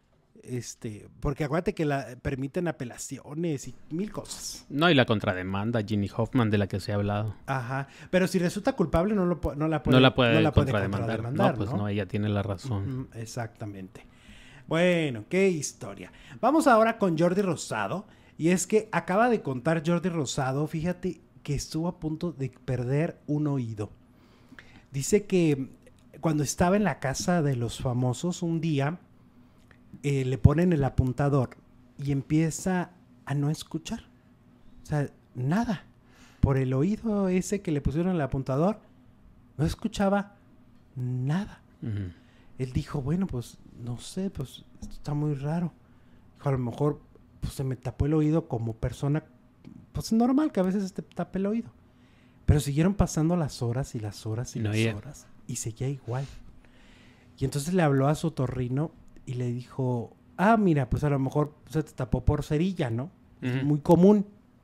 Este, porque acuérdate que la permiten apelaciones y mil cosas. No, y la contrademanda, Ginny Hoffman, de la que se ha hablado. Ajá, pero si resulta culpable no, lo, no la puede, no la puede, no la puede contrademandar. contrademandar. No, pues ¿no? no, ella tiene la razón. Uh-huh, exactamente. Bueno, qué historia. Vamos ahora con Jordi Rosado. Y es que acaba de contar Jordi Rosado, fíjate que estuvo a punto de perder un oído. Dice que cuando estaba en la casa de los famosos un día, eh, le ponen el apuntador y empieza a no escuchar. O sea, nada. Por el oído ese que le pusieron el apuntador, no escuchaba nada. Uh-huh. Él dijo, bueno, pues no sé, pues esto está muy raro. Dijo, a lo mejor pues, se me tapó el oído como persona, pues normal que a veces se te tape el oído. Pero siguieron pasando las horas y las horas y no, las yeah. horas. Y seguía igual. Y entonces le habló a su otorrino y le dijo, ah, mira, pues a lo mejor se te tapó por cerilla, ¿no? Uh-huh. Es muy común.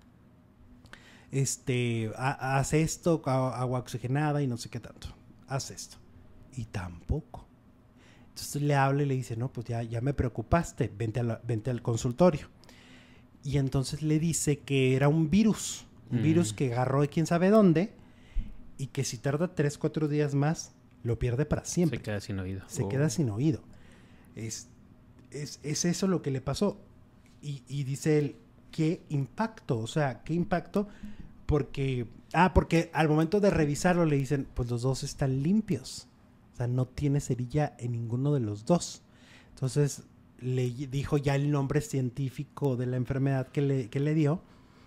Este, ha, haz esto, agua oxigenada y no sé qué tanto. Haz esto. Y tampoco. Entonces le habla y le dice, no, pues ya, ya me preocupaste, vente, a la, vente al consultorio. Y entonces le dice que era un virus. Un mm. virus que agarró de quién sabe dónde y que si tarda tres, cuatro días más, lo pierde para siempre. Se queda sin oído. Se oh. queda sin oído. Es, es, es eso lo que le pasó. Y, y dice él, ¿qué impacto? O sea, ¿qué impacto? Porque, ah, porque al momento de revisarlo le dicen, pues los dos están limpios. O sea, no tiene cerilla en ninguno de los dos. Entonces, le dijo ya el nombre científico de la enfermedad que le, que le dio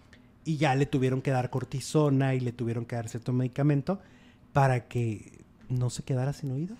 y ya le tuvieron que dar cortisona y le tuvieron que dar cierto medicamento para que no se quedara sin oído.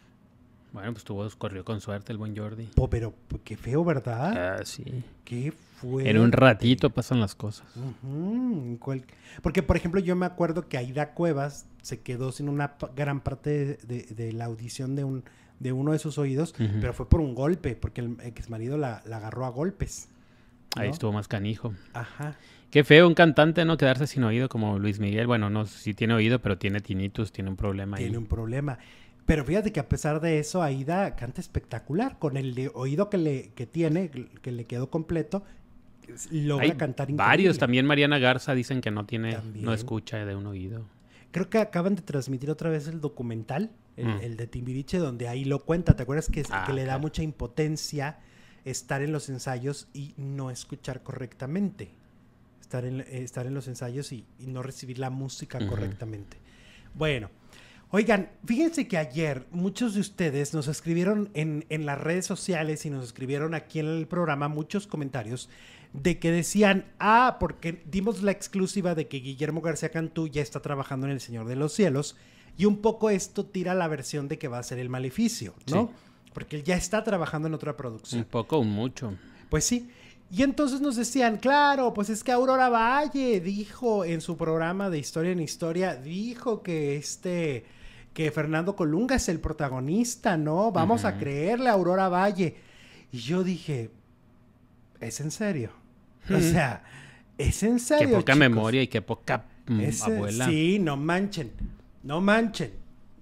Bueno, pues tuvo, corrió con suerte el buen Jordi. Oh, pero qué feo, ¿verdad? Ah, sí. Qué fuerte. En un ratito pasan las cosas. Uh-huh. Cual... Porque, por ejemplo, yo me acuerdo que Aida Cuevas se quedó sin una p- gran parte de, de, de la audición de, un, de uno de sus oídos, uh-huh. pero fue por un golpe, porque el exmarido la, la agarró a golpes, ¿no? Ahí estuvo más canijo. Ajá. Qué feo un cantante, ¿no? Quedarse sin oído como Luis Miguel. Bueno, no, sí tiene oído, pero tiene tinnitus, tiene un problema ahí. Tiene un problema. Pero fíjate que a pesar de eso, Aida canta espectacular. Con el de oído que le que tiene, que le quedó completo, logra Hay cantar increíble. Varios. También Mariana Garza dicen que no tiene, También. no escucha de un oído. Creo que acaban de transmitir otra vez el documental, el, Mm. el de Timbiriche, donde ahí lo cuenta. ¿Te acuerdas que, Ah, que le da claro. mucha impotencia estar en los ensayos y no escuchar correctamente? Estar en, eh, estar en los ensayos y, y no recibir la música Ujú. correctamente. Bueno, oigan, fíjense que ayer muchos de ustedes nos escribieron en, en las redes sociales y nos escribieron aquí en el programa muchos comentarios de que decían, ah, porque dimos la exclusiva de que Guillermo García Cantú ya está trabajando en El Señor de los Cielos y un poco esto tira la versión de que va a ser El Maleficio, ¿no? Sí. Porque él ya está trabajando en otra producción. Un poco, un mucho. Pues sí. Y entonces nos decían, claro, pues es que Aurora Valle dijo en su programa de Historia en Historia, dijo que este, que Fernando Colunga es el protagonista, ¿no? Vamos Ujú. a creerle a Aurora Valle. Y yo dije, ¿es en serio? O Ujú. sea, ¿es en Qué serio, poca chicos? memoria y qué poca mm, Es, abuela. Sí, no manchen, no manchen.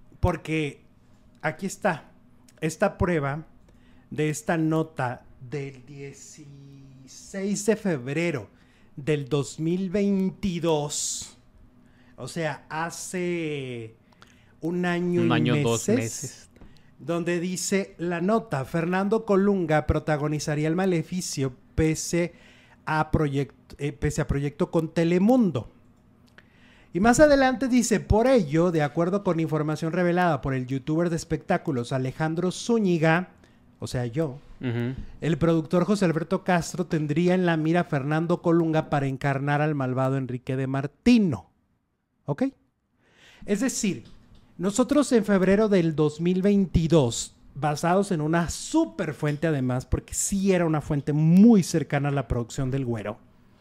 Porque aquí está, esta prueba de esta nota del dieciséis de febrero del dos mil veintidós. O sea, hace un año Un y año, meses, dos meses. donde dice la nota, Fernando Colunga protagonizaría El Maleficio pese a, proyecto, eh, pese a proyecto con Telemundo. Y más adelante dice, por ello, de acuerdo con información revelada por el youtuber de espectáculos Alejandro Zúñiga, o sea yo, Ujú. el productor José Alberto Castro tendría en la mira a Fernando Colunga para encarnar al malvado Enrique de Martino. ¿Ok? Es decir, nosotros en febrero del dos mil veintidós, basados en una súper fuente además, porque sí era una fuente muy cercana a la producción del Güero,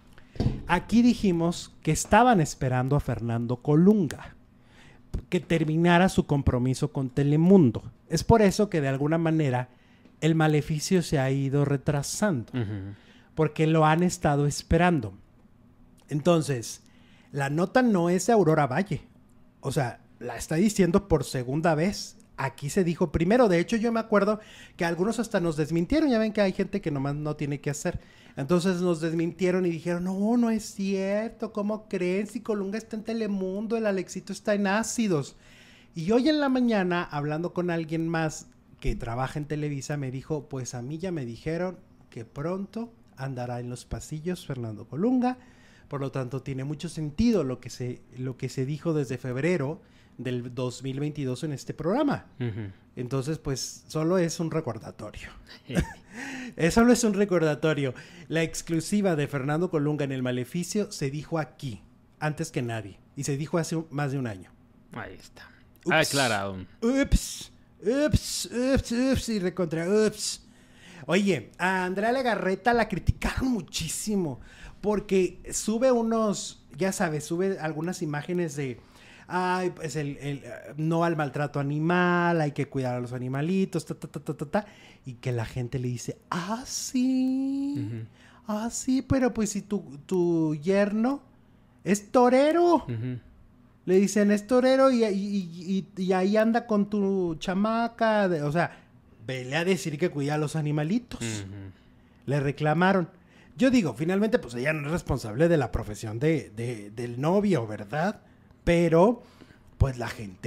aquí dijimos que estaban esperando a Fernando Colunga, que terminara su compromiso con Telemundo. Es por eso que de alguna manera El Maleficio se ha ido retrasando, Ujú. porque lo han estado esperando. Entonces, la nota no es de Aurora Valle. O sea, la está diciendo por segunda vez. Aquí se dijo primero. De hecho, yo me acuerdo que algunos hasta nos desmintieron. Ya ven que hay gente que nomás no tiene que hacer. Entonces nos desmintieron y dijeron, no, no es cierto. ¿Cómo creen? Si Colunga está en Telemundo, el Alexito está en Ácidos. Y hoy en la mañana, hablando con alguien más que trabaja en Televisa, me dijo, pues a mí ya me dijeron que pronto andará en los pasillos Fernando Colunga. Por lo tanto, tiene mucho sentido lo que se, lo que se dijo desde febrero del dos mil veintidós en este programa. Ujú. Entonces, pues, solo es un recordatorio. Eso no es un recordatorio. La exclusiva de Fernando Colunga en El Maleficio se dijo aquí, antes que nadie. Y se dijo hace un- más de un año. Ahí está. Ups. Aclarado. Ups, ups, ups, ups, y recontra, ups. Oye, a Andrea Legarreta la criticaron muchísimo porque sube unos, ya sabes, sube algunas imágenes de, ay, pues el, el, eh, no al maltrato animal, hay que cuidar a los animalitos, ta, ta, ta, ta, ta, ta, y que la gente le dice, ah, sí, Ujú. ah, sí, pero pues si tu, tu yerno es torero. Ujú. Le dicen, es torero y, y, y, y ahí anda con tu chamaca. De, o sea, vele a decir que cuida a los animalitos. Ujú. Le reclamaron. Yo digo, finalmente, pues ella no es responsable de la profesión de, de, del novio, ¿verdad? Pero, pues la gente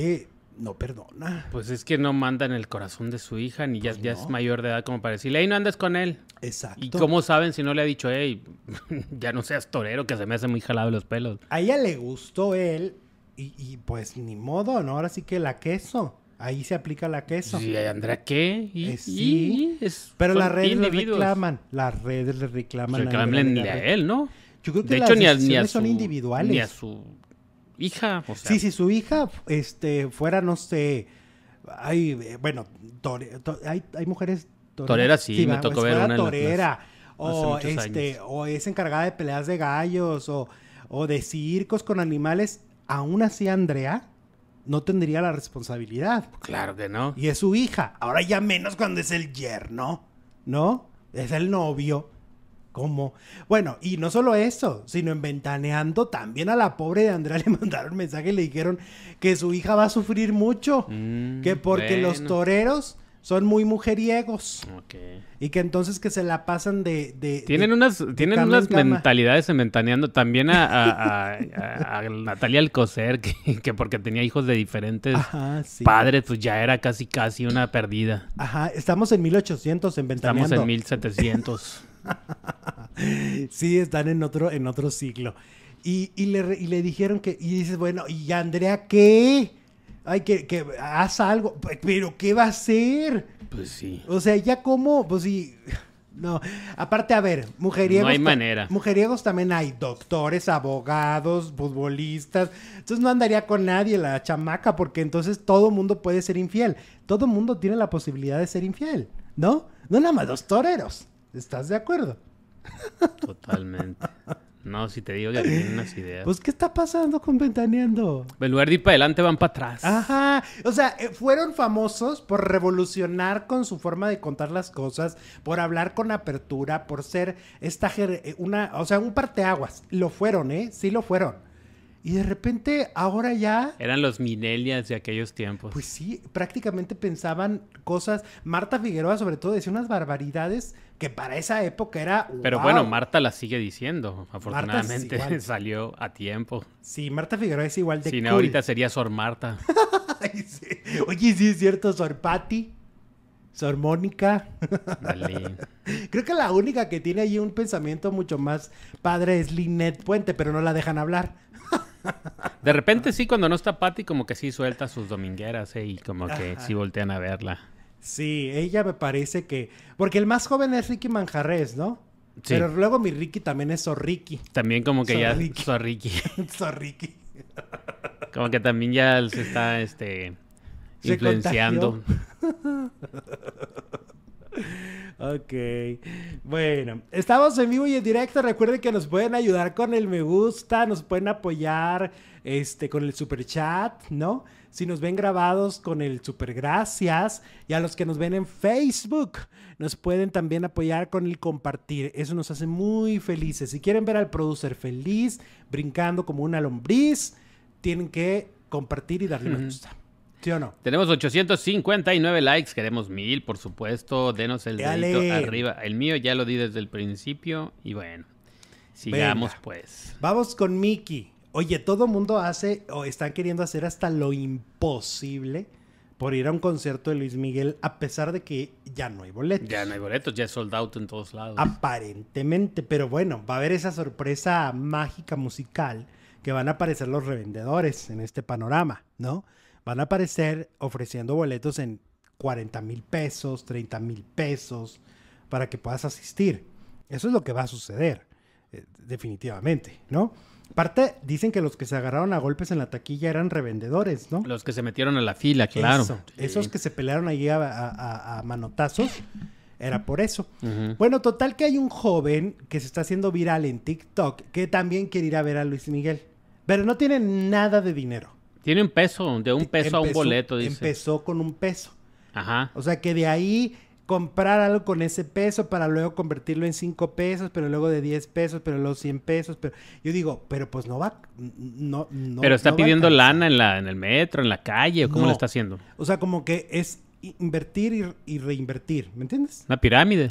no perdona. Pues es que no manda en el corazón de su hija, ni ya, Pues ya no. es mayor de edad como para decirle, hey, no andes con él. Exacto. ¿Y cómo saben si no le ha dicho, hey, ya no seas torero, que se me hace muy jalado los pelos? A ella le gustó él y, y pues ni modo, ¿no? Ahora sí que la queso. Ahí se aplica la queso. Sí, Andrea, ¿qué? ¿Y, Eh, sí, y- es- pero son las redes le individuos. reclaman. Las redes le reclaman. a Reclámenle Andrea a Legarreta. él, ¿no? Yo creo que De las hecho, ni a, ni a decisiones su, son individuales. ni a su hija. O sea, Sí, si su hija este, fuera, no sé, hay, eh, bueno, tore- to- hay, hay mujeres toreras. Toreras, sí, me va, tocó pues, ver fuera una en las- torera, hace o, muchos este, años. o es encargada de peleas de gallos, o, o de circos con animales, aún así Andrea no tendría la responsabilidad. claro que no. Y es su hija. Ahora ya menos cuando es el yerno, ¿no? Es el novio. ¿Cómo? Bueno, y no solo eso, sino en Ventaneando también a la pobre de Andrea le mandaron mensaje y le dijeron que su hija va a sufrir mucho. Mm, que porque los bueno. toreros son muy mujeriegos. Ok. Y que entonces que se la pasan de... de Tienen de- unas, de tienen cama unas en cama. mentalidades en Ventaneando. También a, a, a- a- a Natalia Alcocer, que, que porque tenía hijos de diferentes Ajá, sí. padres, pues ya era casi casi una perdida. Ajá, estamos en mil ochocientos en Ventaneando. Estamos en mil setecientos. Sí, están en otro, en otro siglo. Y, y, le, re- y le dijeron que, y dices, bueno, ¿y Andrea qué? Ay, que, que haz algo. Pe- Pero, ¿qué va a hacer? Pues sí. O sea, ya cómo, pues sí. No, aparte, a ver, mujeriegos. No hay ta- manera. Mujeriegos también hay doctores, abogados, futbolistas. Entonces no andaría con nadie la chamaca, porque entonces todo mundo puede ser infiel. Todo mundo tiene la posibilidad de ser infiel, ¿no? No nada más los toreros. ¿Estás de acuerdo? Totalmente. No, si te digo que tienen unas ideas. Pues, ¿qué está pasando con Ventaneando? En lugar de ir para adelante, van para atrás. Ajá, o sea, eh, fueron famosos por revolucionar con su forma de contar las cosas, por hablar con apertura, por ser esta ger- eh, una, o sea, un parteaguas. Lo fueron, ¿eh? Sí lo fueron. Y de repente, ahora ya, Eran los millennials de aquellos tiempos. pues sí, prácticamente pensaban cosas. Marta Figueroa, sobre todo, decía unas barbaridades que para esa época era. Pero ¡wow! bueno, Marta la sigue diciendo. Afortunadamente igual. salió a tiempo. Sí, Marta Figueroa es igual de Si no, cool. ahorita sería Sor Marta. Ay, sí. Oye, sí es cierto, Sor Patti, Sor Mónica. Dale. Creo que la única que tiene ahí un pensamiento mucho más padre es Lynette Puente, pero no la dejan hablar. De repente sí, cuando no está Patty, como que sí suelta sus domingueras, ¿eh? Y como que Ajá. sí voltean a verla. Sí, ella me parece que... Porque el más joven es Ricky Manjarres, ¿no? Sí. Pero luego mi Ricky también es Sor Ricky. También como que Sor ya... Ricky. Sor Ricky. Sor Ricky. Como que también ya se está, este... Se influenciando. Ok. Bueno, estamos en vivo y en directo. Recuerden que nos pueden ayudar con el me gusta, nos pueden apoyar este, con el super chat, ¿no? Si nos ven grabados con el super gracias. Y a los que nos ven en Facebook, nos pueden también apoyar con el compartir. Eso nos hace muy felices. Si quieren ver al producer feliz, brincando como una lombriz, tienen que compartir y darle me gusta. ¿Sí o no? Tenemos ochocientos cincuenta y nueve likes, queremos mil, por supuesto. Denos el Dale. dedito arriba. El mío ya lo di desde el principio. Y bueno, sigamos Venga. pues. Vamos con Mickey. Oye, todo mundo hace o están queriendo hacer hasta lo imposible por ir a un concierto de Luis Miguel a pesar de que ya no hay boletos. Ya no hay boletos, ya es sold out en todos lados. Aparentemente, pero bueno, va a haber esa sorpresa mágica musical que van a aparecer los revendedores en este panorama, ¿no? Van a aparecer ofreciendo boletos en cuarenta mil pesos, treinta mil pesos para que puedas asistir. Eso es lo que va a suceder, eh, definitivamente, ¿no? Aparte, dicen que los que se agarraron a golpes en la taquilla eran revendedores, ¿no? Los que se metieron a la fila, claro. Eso, Sí. Esos que se pelearon allí a, a- a- a manotazos, era por eso. Ujú. Bueno, total que hay un joven que se está haciendo viral en TikTok que también quiere ir a ver a Luis Miguel, pero no tiene nada de dinero. Tiene un peso, de un peso a un Empezó- boleto, dice. Empezó con un peso. Ajá. O sea que de ahí comprar algo con ese peso para luego convertirlo en cinco pesos, pero luego de diez pesos, pero luego cien pesos. Pero yo digo, pero pues no va, no, no. Pero está no va a pidiendo alcanzar. lana en la en el metro, en la calle, ¿o cómo No. lo está haciendo? O sea, como que es invertir y, y reinvertir, ¿me entiendes? Una pirámide.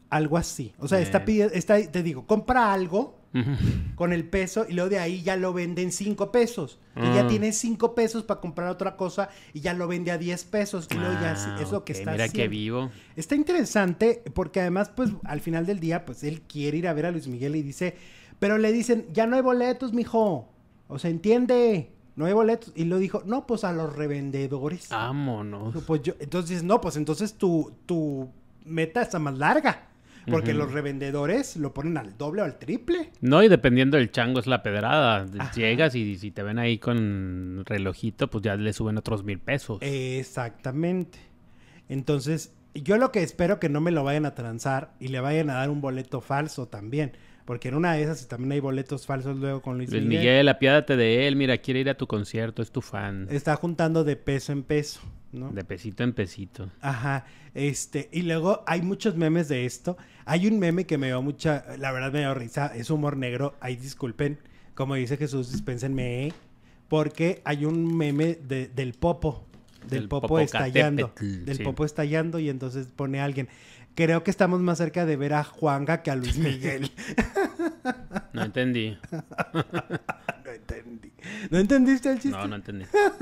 Algo así. O sea, Eh. está pidiendo, está, te digo, compra algo Ujú. con el peso y luego de ahí ya lo venden cinco pesos. Y ya Mm. tiene cinco pesos para comprar otra cosa y ya lo vende a diez pesos. Y luego ya Ah, es lo que ok, está mira haciendo. qué vivo. Está interesante porque además, pues, al final del día, pues, él quiere ir a ver a Luis Miguel y dice... Pero le dicen, ya no hay boletos, mijo. O sea, entiende, no hay boletos. Y lo dijo, no, pues, a los revendedores. Vámonos. Pues yo, entonces, no, pues, entonces tu, tu meta está más larga. Porque Ujú. los revendedores lo ponen al doble o al triple. No, y dependiendo del chango es la pedrada. Ajá. Llegas y si te ven ahí con relojito, pues ya le suben otros mil pesos. Exactamente. Entonces, yo lo que espero que no me lo vayan a transar y le vayan a dar un boleto falso también. Porque en una de esas también hay boletos falsos luego con Luis, Luis Miguel. Miguel, apiádate de él. Mira, quiere ir a tu concierto, es tu fan. Está juntando de peso en peso, ¿no? De pesito en pesito. Ajá, este, y luego hay muchos memes de esto. Hay un meme que me dio mucha, la verdad me dio risa, es humor negro, ahí disculpen, como dice Jesús, dispénsenme, ¿eh? Porque hay un meme de, del popo, del, Del popo estallando, Popocatépetl, del sí. popo estallando y entonces pone alguien, creo que estamos más cerca de ver a Juanga que a Luis Miguel. No entendí. No entendí. ¿No entendiste el chiste? No, no entendí.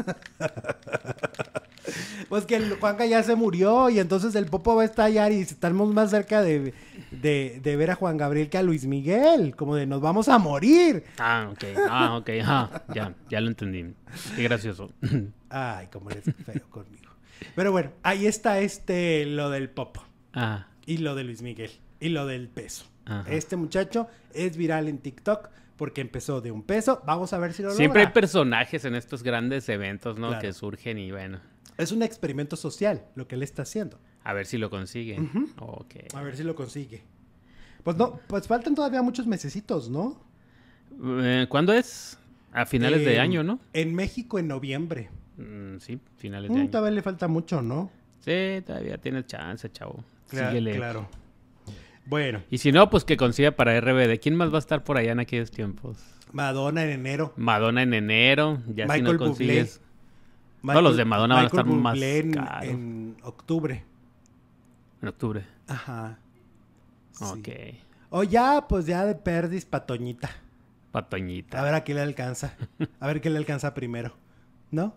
Pues que el Juanca ya se murió y entonces el Popo va a estallar y estamos más cerca de, de, de ver a Juan Gabriel que a Luis Miguel, como de nos vamos a morir. Ah, ok. Ah, ok. Ah, ya, ya lo entendí. Qué gracioso. Ay, cómo eres feo conmigo. Pero bueno, ahí está este, lo del Popo Ah, y lo de Luis Miguel y lo del peso. ajá. Este muchacho es viral en TikTok porque empezó de un peso. Vamos a ver si lo Siempre hay logra. personajes en estos grandes eventos, ¿no? Claro. Que surgen y bueno, Es un experimento social lo que él está haciendo. a ver si lo consigue. Ujú. Ok. A ver si lo consigue. Pues no, pues faltan todavía muchos mesecitos, ¿no? Eh, ¿Cuándo es? A finales de Eh, año, ¿no? En México en noviembre. Mm, sí, finales de Mm, año. todavía le falta mucho, ¿no? Sí, todavía tienes chance, chavo. Cla- Síguele. Claro. Bueno, Y si no, pues que consiga para R B D. ¿Quién más va a estar por allá en aquellos tiempos? Madonna en enero. Madonna en enero. Ya si Michael no consigues. Michael- los de Madonna van a Michael estar más Bublé en, caros. en octubre. En octubre. Ajá. Sí. Ok. O ya, pues ya de perdis patoñita. Patoñita. A ver a qué le alcanza. A ver qué le alcanza primero. ¿No?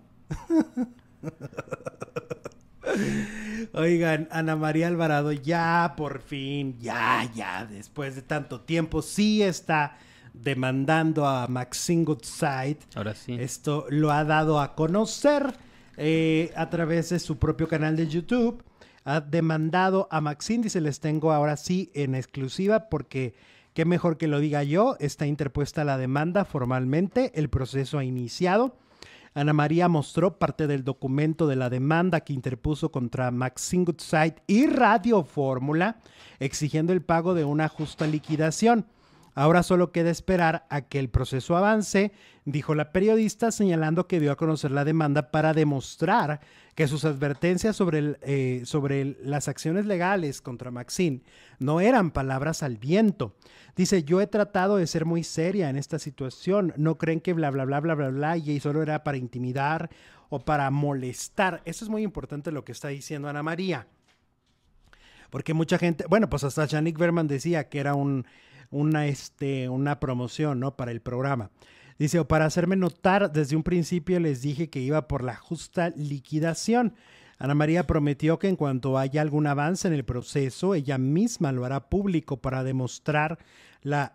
Oigan, Ana María Alvarado, ya por fin, ya, ya, después de tanto tiempo, sí está demandando a Maxine Goodside. Ahora sí. Esto lo ha dado a conocer eh, a través de su propio canal de YouTube. Ha demandado a Maxine, dice, les tengo ahora sí en exclusiva porque qué mejor que lo diga yo. Está interpuesta la demanda formalmente, el proceso ha iniciado. Ana María mostró parte del documento de la demanda que interpuso contra Maxine Goodside y Radio Fórmula, exigiendo el pago de una justa liquidación. Ahora solo queda esperar a que el proceso avance, dijo la periodista, señalando que dio a conocer la demanda para demostrar que sus advertencias sobre, el, eh, sobre el, las acciones legales contra Maxine no eran palabras al viento. Dice, yo he tratado de ser muy seria en esta situación, no creen que bla, bla, bla, bla, bla, bla, y solo era para intimidar o para molestar. Eso es muy importante lo que está diciendo Ana María. Porque mucha gente, bueno, pues hasta Shanik Berman decía que era un, una, este, una promoción, ¿no? Para el programa. Dice, o para hacerme notar, desde un principio les dije que iba por la justa liquidación. Ana María prometió que en cuanto haya algún avance en el proceso, ella misma lo hará público para demostrar la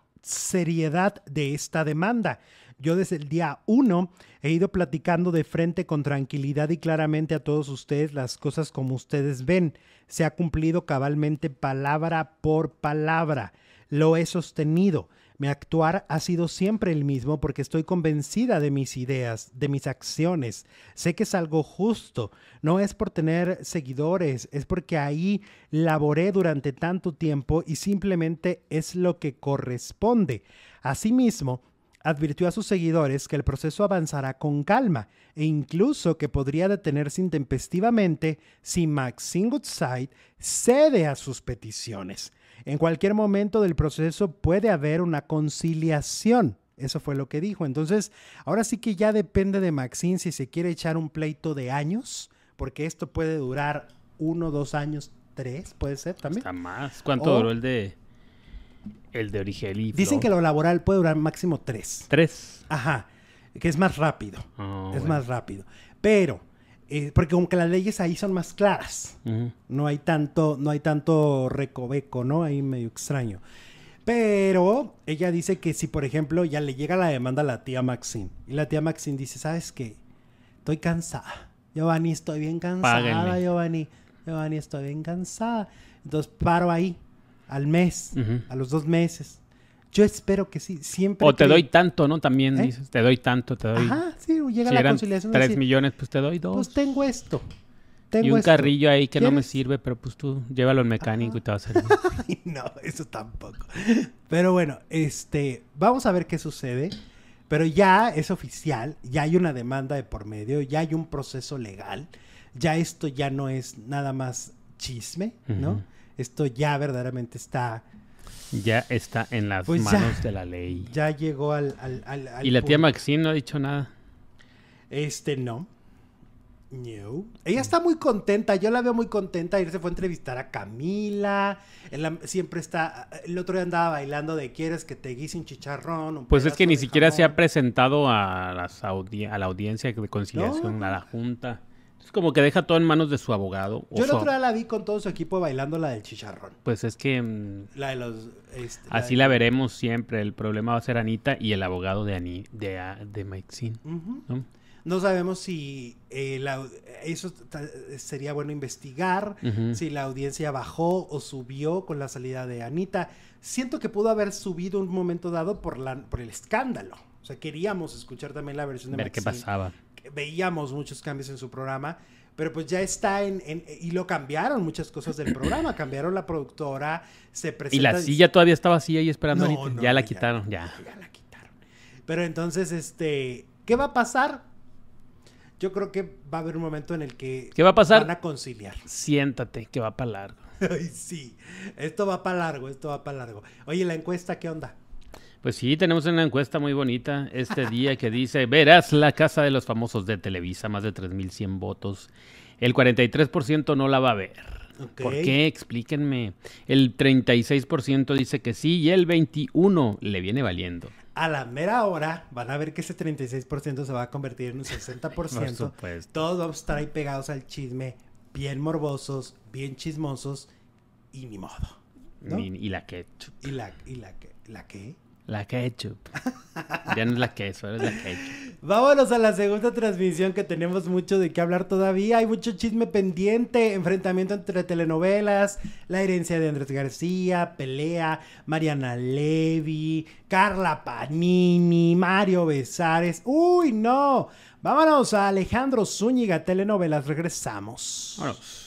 seriedad de esta demanda. Yo desde el día uno he ido platicando de frente con tranquilidad y claramente a todos ustedes las cosas como ustedes ven. Se ha cumplido cabalmente palabra por palabra. Lo he sostenido. Mi actuar ha sido siempre el mismo porque estoy convencida de mis ideas, de mis acciones. Sé que es algo justo. No es por tener seguidores, es porque ahí laboré durante tanto tiempo y simplemente es lo que corresponde. Asimismo, advirtió a sus seguidores que el proceso avanzará con calma e incluso que podría detenerse intempestivamente si Maxine Goodside cede a sus peticiones. En cualquier momento del proceso puede haber una conciliación. Eso fue lo que dijo. Entonces, ahora sí que ya depende de Maxine si se quiere echar un pleito de años, porque esto puede durar uno, dos años, tres, puede ser también. Hasta más. ¿Cuánto O- duró el de el de Origel y Dicen Flo? que lo laboral puede durar máximo tres. Tres. Ajá, que es más rápido. Oh, es bueno. más rápido. Pero, eh, porque aunque las leyes ahí son más claras, Ujú. no hay tanto, no hay tanto recoveco, ¿no? Ahí medio extraño. Pero ella dice que si, por ejemplo, ya le llega la demanda a la tía Maxine, y la tía Maxine dice, ¿sabes qué? Estoy cansada. Giovanni, estoy bien cansada, Páguenme. Giovanni. Giovanni, estoy bien cansada. Entonces paro ahí, al mes, Ujú. a los dos meses. Yo espero que sí, siempre O te que- doy tanto, ¿no? También ¿Eh? dices, te doy tanto, te doy. Ajá, sí, llega Si la eran conciliación. de tres decir, millones, pues te doy dos. Pues tengo esto. Tengo y un esto. carrillo ahí que no me ¿Quieres? sirve, pero pues tú llévalo al mecánico y te va a servir. Ay, no, eso tampoco. Pero bueno, este, vamos a ver qué sucede. Pero ya es oficial, ya hay una demanda de por medio, ya hay un proceso legal. Ya esto ya no es nada más chisme, ¿no? Ujú. Esto ya verdaderamente está, Ya está en las Pues ya. manos de la ley. ya llegó al, al, al- al Y la tía punto. Maxine no ha dicho nada. Este, no. No. Ella está muy contenta, yo la veo muy contenta. Ayer se fue a entrevistar a Camila. En la- siempre está. El otro día andaba bailando de quieres que te guise un chicharrón. Un Pues es que pedazo ni de siquiera se ha jamón?" presentado a, las audi- a la audiencia de conciliación, No. a la junta. Es como que deja todo en manos de su abogado. o Yo el su- otro día la vi con todo su equipo bailando la del chicharrón. Pues es que mm, La de los. este, así de- la veremos siempre. El problema va a ser Anita y el abogado de Ani, de, a- de Maxine, Ujú. ¿no? No sabemos si eh, la- eso ta- sería bueno investigar, Ujú. si la audiencia bajó o subió con la salida de Anita. Siento que pudo haber subido un momento dado por, la, por el escándalo. O sea, queríamos escuchar también la versión de Ver qué Maxine. pasaba. Veíamos muchos cambios en su programa, pero pues ya está en, en- y lo cambiaron muchas cosas del programa, cambiaron la productora, se Y presenta... la silla todavía estaba así ahí esperando a No, Anita. no, ya la ya, quitaron, ya. Ya la quitaron. Pero entonces, este, ¿qué va a pasar? Yo creo que va a haber un momento en el que ¿Qué va a pasar? van a conciliar. Siéntate, que va para largo. Ay, sí, esto va para largo, esto va para largo. Oye, la encuesta, ¿qué onda? Pues sí, tenemos una encuesta muy bonita este día que dice, verás la casa de los famosos de Televisa, más de tres mil cien votos. El cuarenta y tres por ciento no la va a ver. Ok. ¿Por qué? Explíquenme. El treinta y seis por ciento dice que sí y el veintiuno por ciento le viene valiendo. A la mera hora van a ver que ese treinta y seis por ciento se va a convertir en un sesenta por ciento. Por supuesto. Todos vamos a estar ahí pegados al chisme, bien morbosos, bien chismosos y ni modo. ¿no? Y, y la ketchup. ¿Y la, y la, qué- la qué? La ketchup. Ya no es la queso, ahora es la ketchup. Vámonos a la segunda transmisión que tenemos mucho de qué hablar todavía. Hay mucho chisme pendiente, enfrentamiento entre telenovelas, la herencia de Andrés García, pelea, Mariana Levy, Carla Panini, Mario Besares. ¡Uy, no! Vámonos a Alejandro Zúñiga, telenovelas. Regresamos. Vámonos.